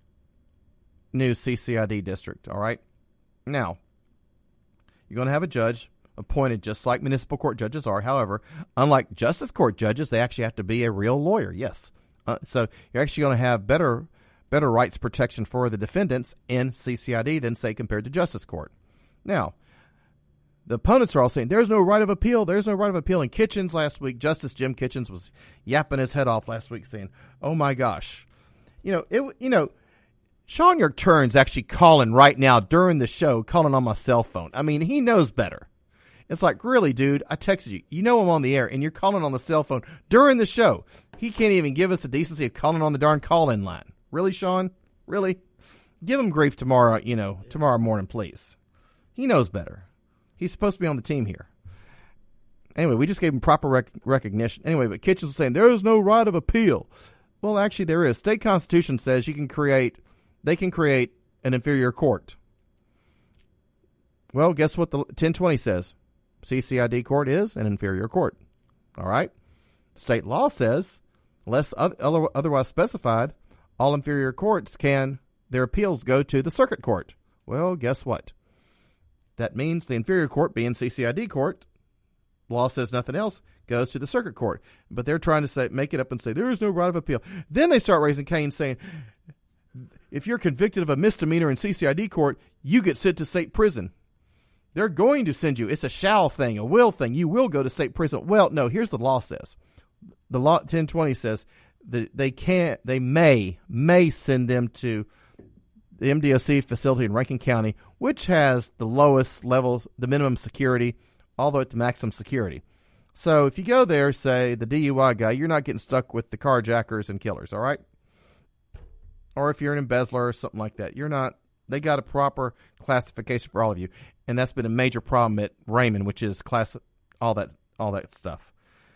new C C I D district, all right? Now, you're going to have a judge appointed just like municipal court judges are. However, unlike justice court judges, they actually have to be a real lawyer, yes. Uh, so you're actually going to have better better rights protection for the defendants in C C I D than, say, compared to justice court. Now, the opponents are all saying, there's no right of appeal. There's no right of appeal. And Kitchens last week, Justice Jim Kitchens was yapping his head off last week saying, oh, my gosh. You know, it. You know, Sean York Turn's actually calling right now during the show, calling on my cell phone. I mean, he knows better. It's like, really, dude, I texted you. You know I'm on the air, and you're calling on the cell phone during the show. He can't even give us the decency of calling on the darn call-in line. Really, Sean? Really? Give him grief tomorrow, you know, tomorrow morning, please. He knows better. He's supposed to be on the team here. Anyway, we just gave him proper rec- recognition. Anyway, but Kitchens was saying, there is no right of appeal. Well, actually, there is. State Constitution says you can create, they can create an inferior court. Well, guess what the ten twenty says? C C I D court is an inferior court. All right? State law says, unless other, otherwise specified, all inferior courts can, their appeals go to the circuit court. Well, guess what? That means the inferior court, being C C I D court, law says nothing else, goes to the circuit court. But they're trying to say, make it up and say, there is no right of appeal. Then they start raising Cain saying, if you're convicted of a misdemeanor in C C I D court, you get sent to state prison. They're going to send you. It's a shall thing, a will thing. You will go to state prison. Well, no, here's the law says. The law, ten twenty says that they can't, they may, may send them to the M D O C facility in Rankin County, which has the lowest level, the minimum security, all the way to maximum security. So if you go there, say, the D U I guy, you're not getting stuck with the carjackers and killers, all right? Or if you're an embezzler or something like that, you're not, they got a proper classification for all of you. And that's been a major problem at Raymond, which is class, all that, all that stuff.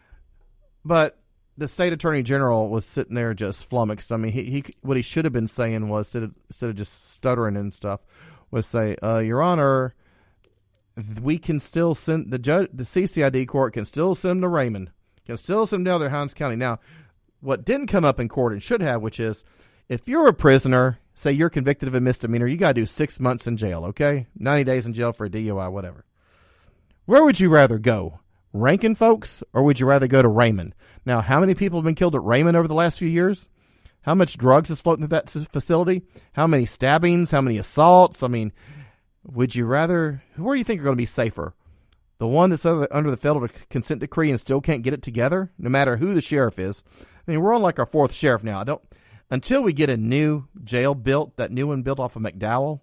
But the state attorney general was sitting there just flummoxed. I mean, he, he what he should have been saying was, instead of, instead of just stuttering and stuff, was say, uh, Your Honor, we can still send, the judge, the C C I D court can still send them to Raymond, can still send them down to Hinds County. Now, what didn't come up in court and should have, which is, if you're a prisoner, say you're convicted of a misdemeanor, you got to do six months in jail, okay? ninety days in jail for a D U I, whatever. Where would you rather go? Rankin, folks, or would you rather go to Raymond? Now, how many people have been killed at Raymond over the last few years? How much drugs is floating through that facility? How many stabbings? How many assaults? I mean, would you rather, where do you think are going to be safer? The one that's under the federal consent decree and still can't get it together, no matter who the sheriff is. I mean, we're on like our fourth sheriff now. I don't, until we get a new jail built, that new one built off of McDowell,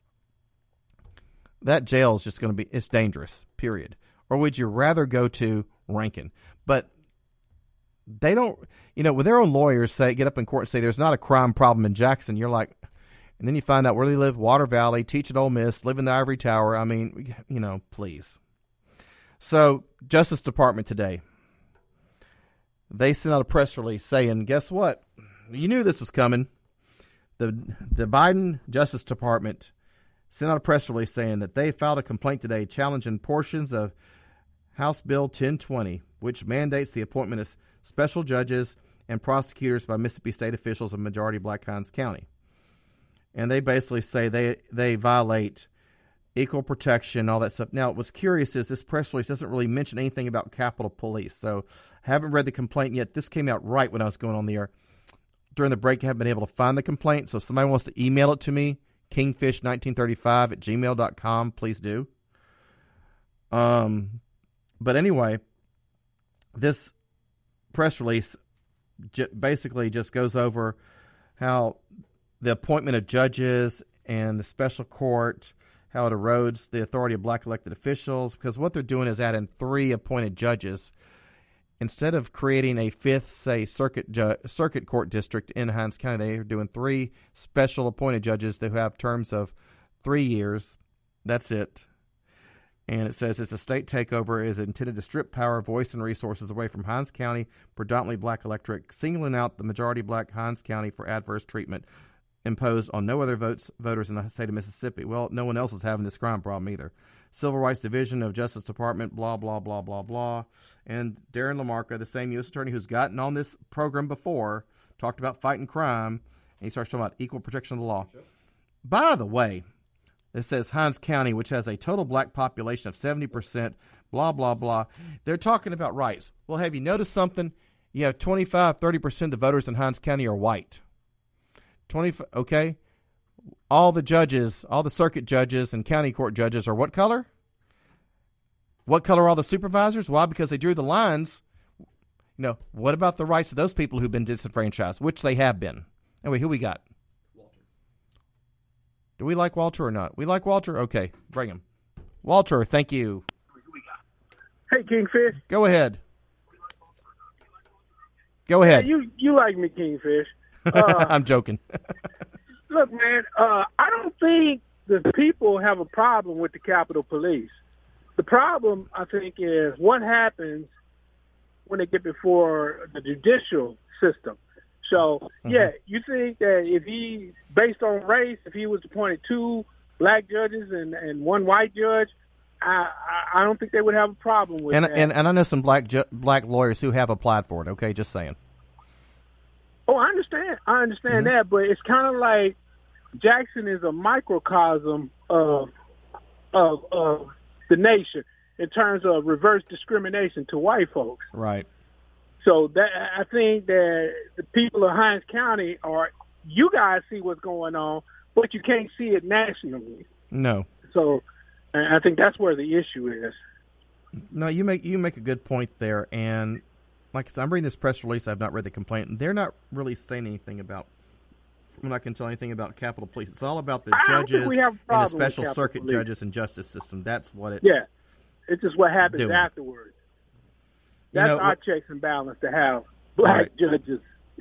that jail is just going to be, it's dangerous, period. Or would you rather go to Rankin? But they don't, you know, when their own lawyers say, get up in court and say there's not a crime problem in Jackson, you're like, and then you find out where they live, Water Valley, teach at Ole Miss, live in the Ivory Tower. I mean, you know, please. So, Justice Department today, they sent out a press release saying, guess what? You knew this was coming. The the Biden Justice Department sent out a press release saying that they filed a complaint today challenging portions of House Bill ten twenty, which mandates the appointment of special judges and prosecutors by Mississippi state officials of majority black Hinds County. And they basically say they, they violate equal protection, all that stuff. Now, what's curious is this press release doesn't really mention anything about Capitol Police. So I haven't read the complaint yet. This came out right when I was going on the air. During the break, I haven't been able to find the complaint. So if somebody wants to email it to me, kingfish nineteen thirty-five at gmail dot com, please do. Um, But anyway, this press release j- basically just goes over how the appointment of judges and the special court, how it erodes the authority of black elected officials, because what they're doing is adding three appointed judges. Instead of creating a fifth, say, circuit ju- circuit court district in Hinds County, they're doing three special appointed judges that have terms of three years. That's it. And it says it's a state takeover is intended to strip power, voice, and resources away from Hinds County, predominantly black electorate, singling out the majority black Hinds County for adverse treatment imposed on no other votes voters in the state of Mississippi. Well, no one else is having this crime problem either. Civil Rights Division of Justice Department, blah, blah, blah, blah, blah. And Darren LaMarca, the same U S attorney who's gotten on this program before, talked about fighting crime, and he starts talking about equal protection of the law. Sure. By the way, it says Hinds County, which has a total black population of seventy percent, blah, blah, blah. They're talking about rights. Well, have you noticed something? You have twenty-five, thirty percent of the voters in Hinds County are white. twenty, okay? All the judges, all the circuit judges and county court judges are what color? What color are all the supervisors? Why? Because they drew the lines. You know, what about the rights of those people who've been disenfranchised, which they have been? Anyway, who we got? Do we like Walter or not? We like Walter? Okay, bring him. Walter, thank you. Hey, Kingfish. Go ahead. Go ahead. Hey, you you like me, Kingfish. Uh, I'm joking. Look, man, uh, I don't think the people have a problem with the Capitol Police. The problem, I think, is what happens when they get before the judicial system. So, mm-hmm. yeah, you think that if he, based on race, if he was appointed two black judges and, and one white judge, I, I I don't think they would have a problem with and, that. And and I know some black ju- black lawyers who have applied for it. Okay, just saying. Oh, I understand. I understand mm-hmm. that, but it's kind of like Jackson is a microcosm of of of the nation in terms of reverse discrimination to white folks. Right. So that I think that the people of Hinds County are, you guys see what's going on, but you can't see it nationally. No. So I think that's where the issue is. No, you make you make a good point there, and like I said, I'm reading this press release. I've not read the complaint, and they're not really saying anything about. I'm not going to tell anything about Capitol Police. It's all about the judges and the special circuit Police. judges and justice system. That's what it's. Yeah, it's just what happens doing. afterwards. That's you know, our what, checks and balance to have black right. judges.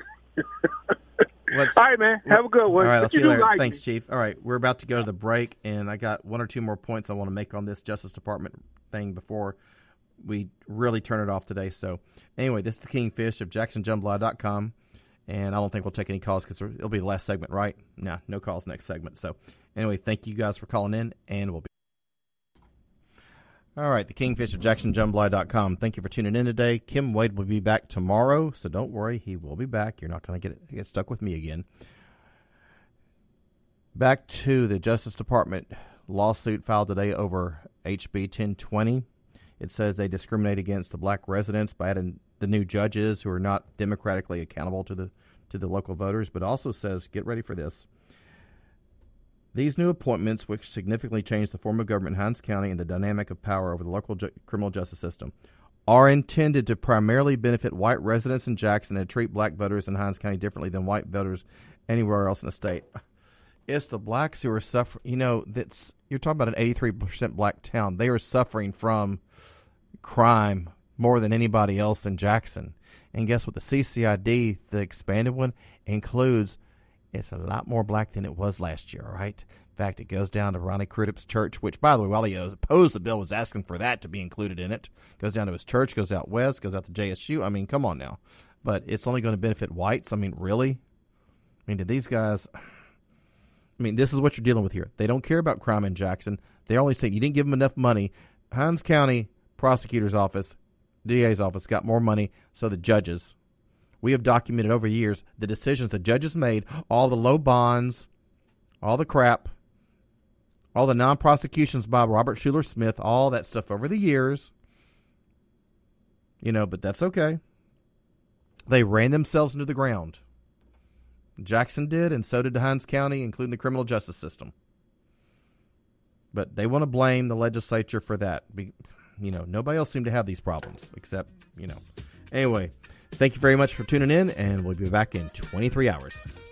All right, man. Have a good one. All right, but I'll see you you later. Like Thanks, me. Chief. All right, we're about to go to the break, and I got one or two more points I want to make on this Justice Department thing before we really turn it off today. So, anyway, this is the Kingfish of Jackson Jambalaya dot com, and I don't think we'll take any calls because it'll be the last segment, right? No, no calls next segment. So, anyway, thank you guys for calling in, and we'll be. All right, the Kingfish of Jackson Jambalaya dot com. Thank you for tuning in today. Kim Wade will be back tomorrow, so don't worry. He will be back. You're not going to get get stuck with me again. Back to the Justice Department lawsuit filed today over H B ten twenty. It says they discriminate against the black residents by adding the new judges who are not democratically accountable to the to the local voters, but also says, get ready for this, these new appointments, which significantly change the form of government in Hinds County and the dynamic of power over the local ju- criminal justice system, are intended to primarily benefit white residents in Jackson and treat black voters in Hinds County differently than white voters anywhere else in the state. It's the blacks who are suffering. You know, that's you're talking about an eighty-three percent black town. They are suffering from crime more than anybody else in Jackson. And guess what? The C C I D, the expanded one, includes. It's a lot more black than it was last year, all right? In fact, it goes down to Ronnie Crudup's church, which, by the way, while he opposed the bill, was asking for that to be included in it. Goes down to his church, goes out west, goes out to J S U. I mean, come on now. But it's only going to benefit whites. I mean, really? I mean, did these guys... I mean, this is what you're dealing with here. They don't care about crime in Jackson. They're only saying you didn't give them enough money. Hinds County Prosecutor's Office, D A's office, got more money, so the judges. We have documented over years the decisions the judges made, all the low bonds, all the crap, all the non-prosecutions by Robert Schuler Smith, all that stuff over the years. You know, but that's okay. They ran themselves into the ground. Jackson did, and so did Hinds County, including the criminal justice system. But they want to blame the legislature for that. Be, you know, nobody else seemed to have these problems except, you know. Anyway, thank you very much for tuning in, and we'll be back in twenty-three hours.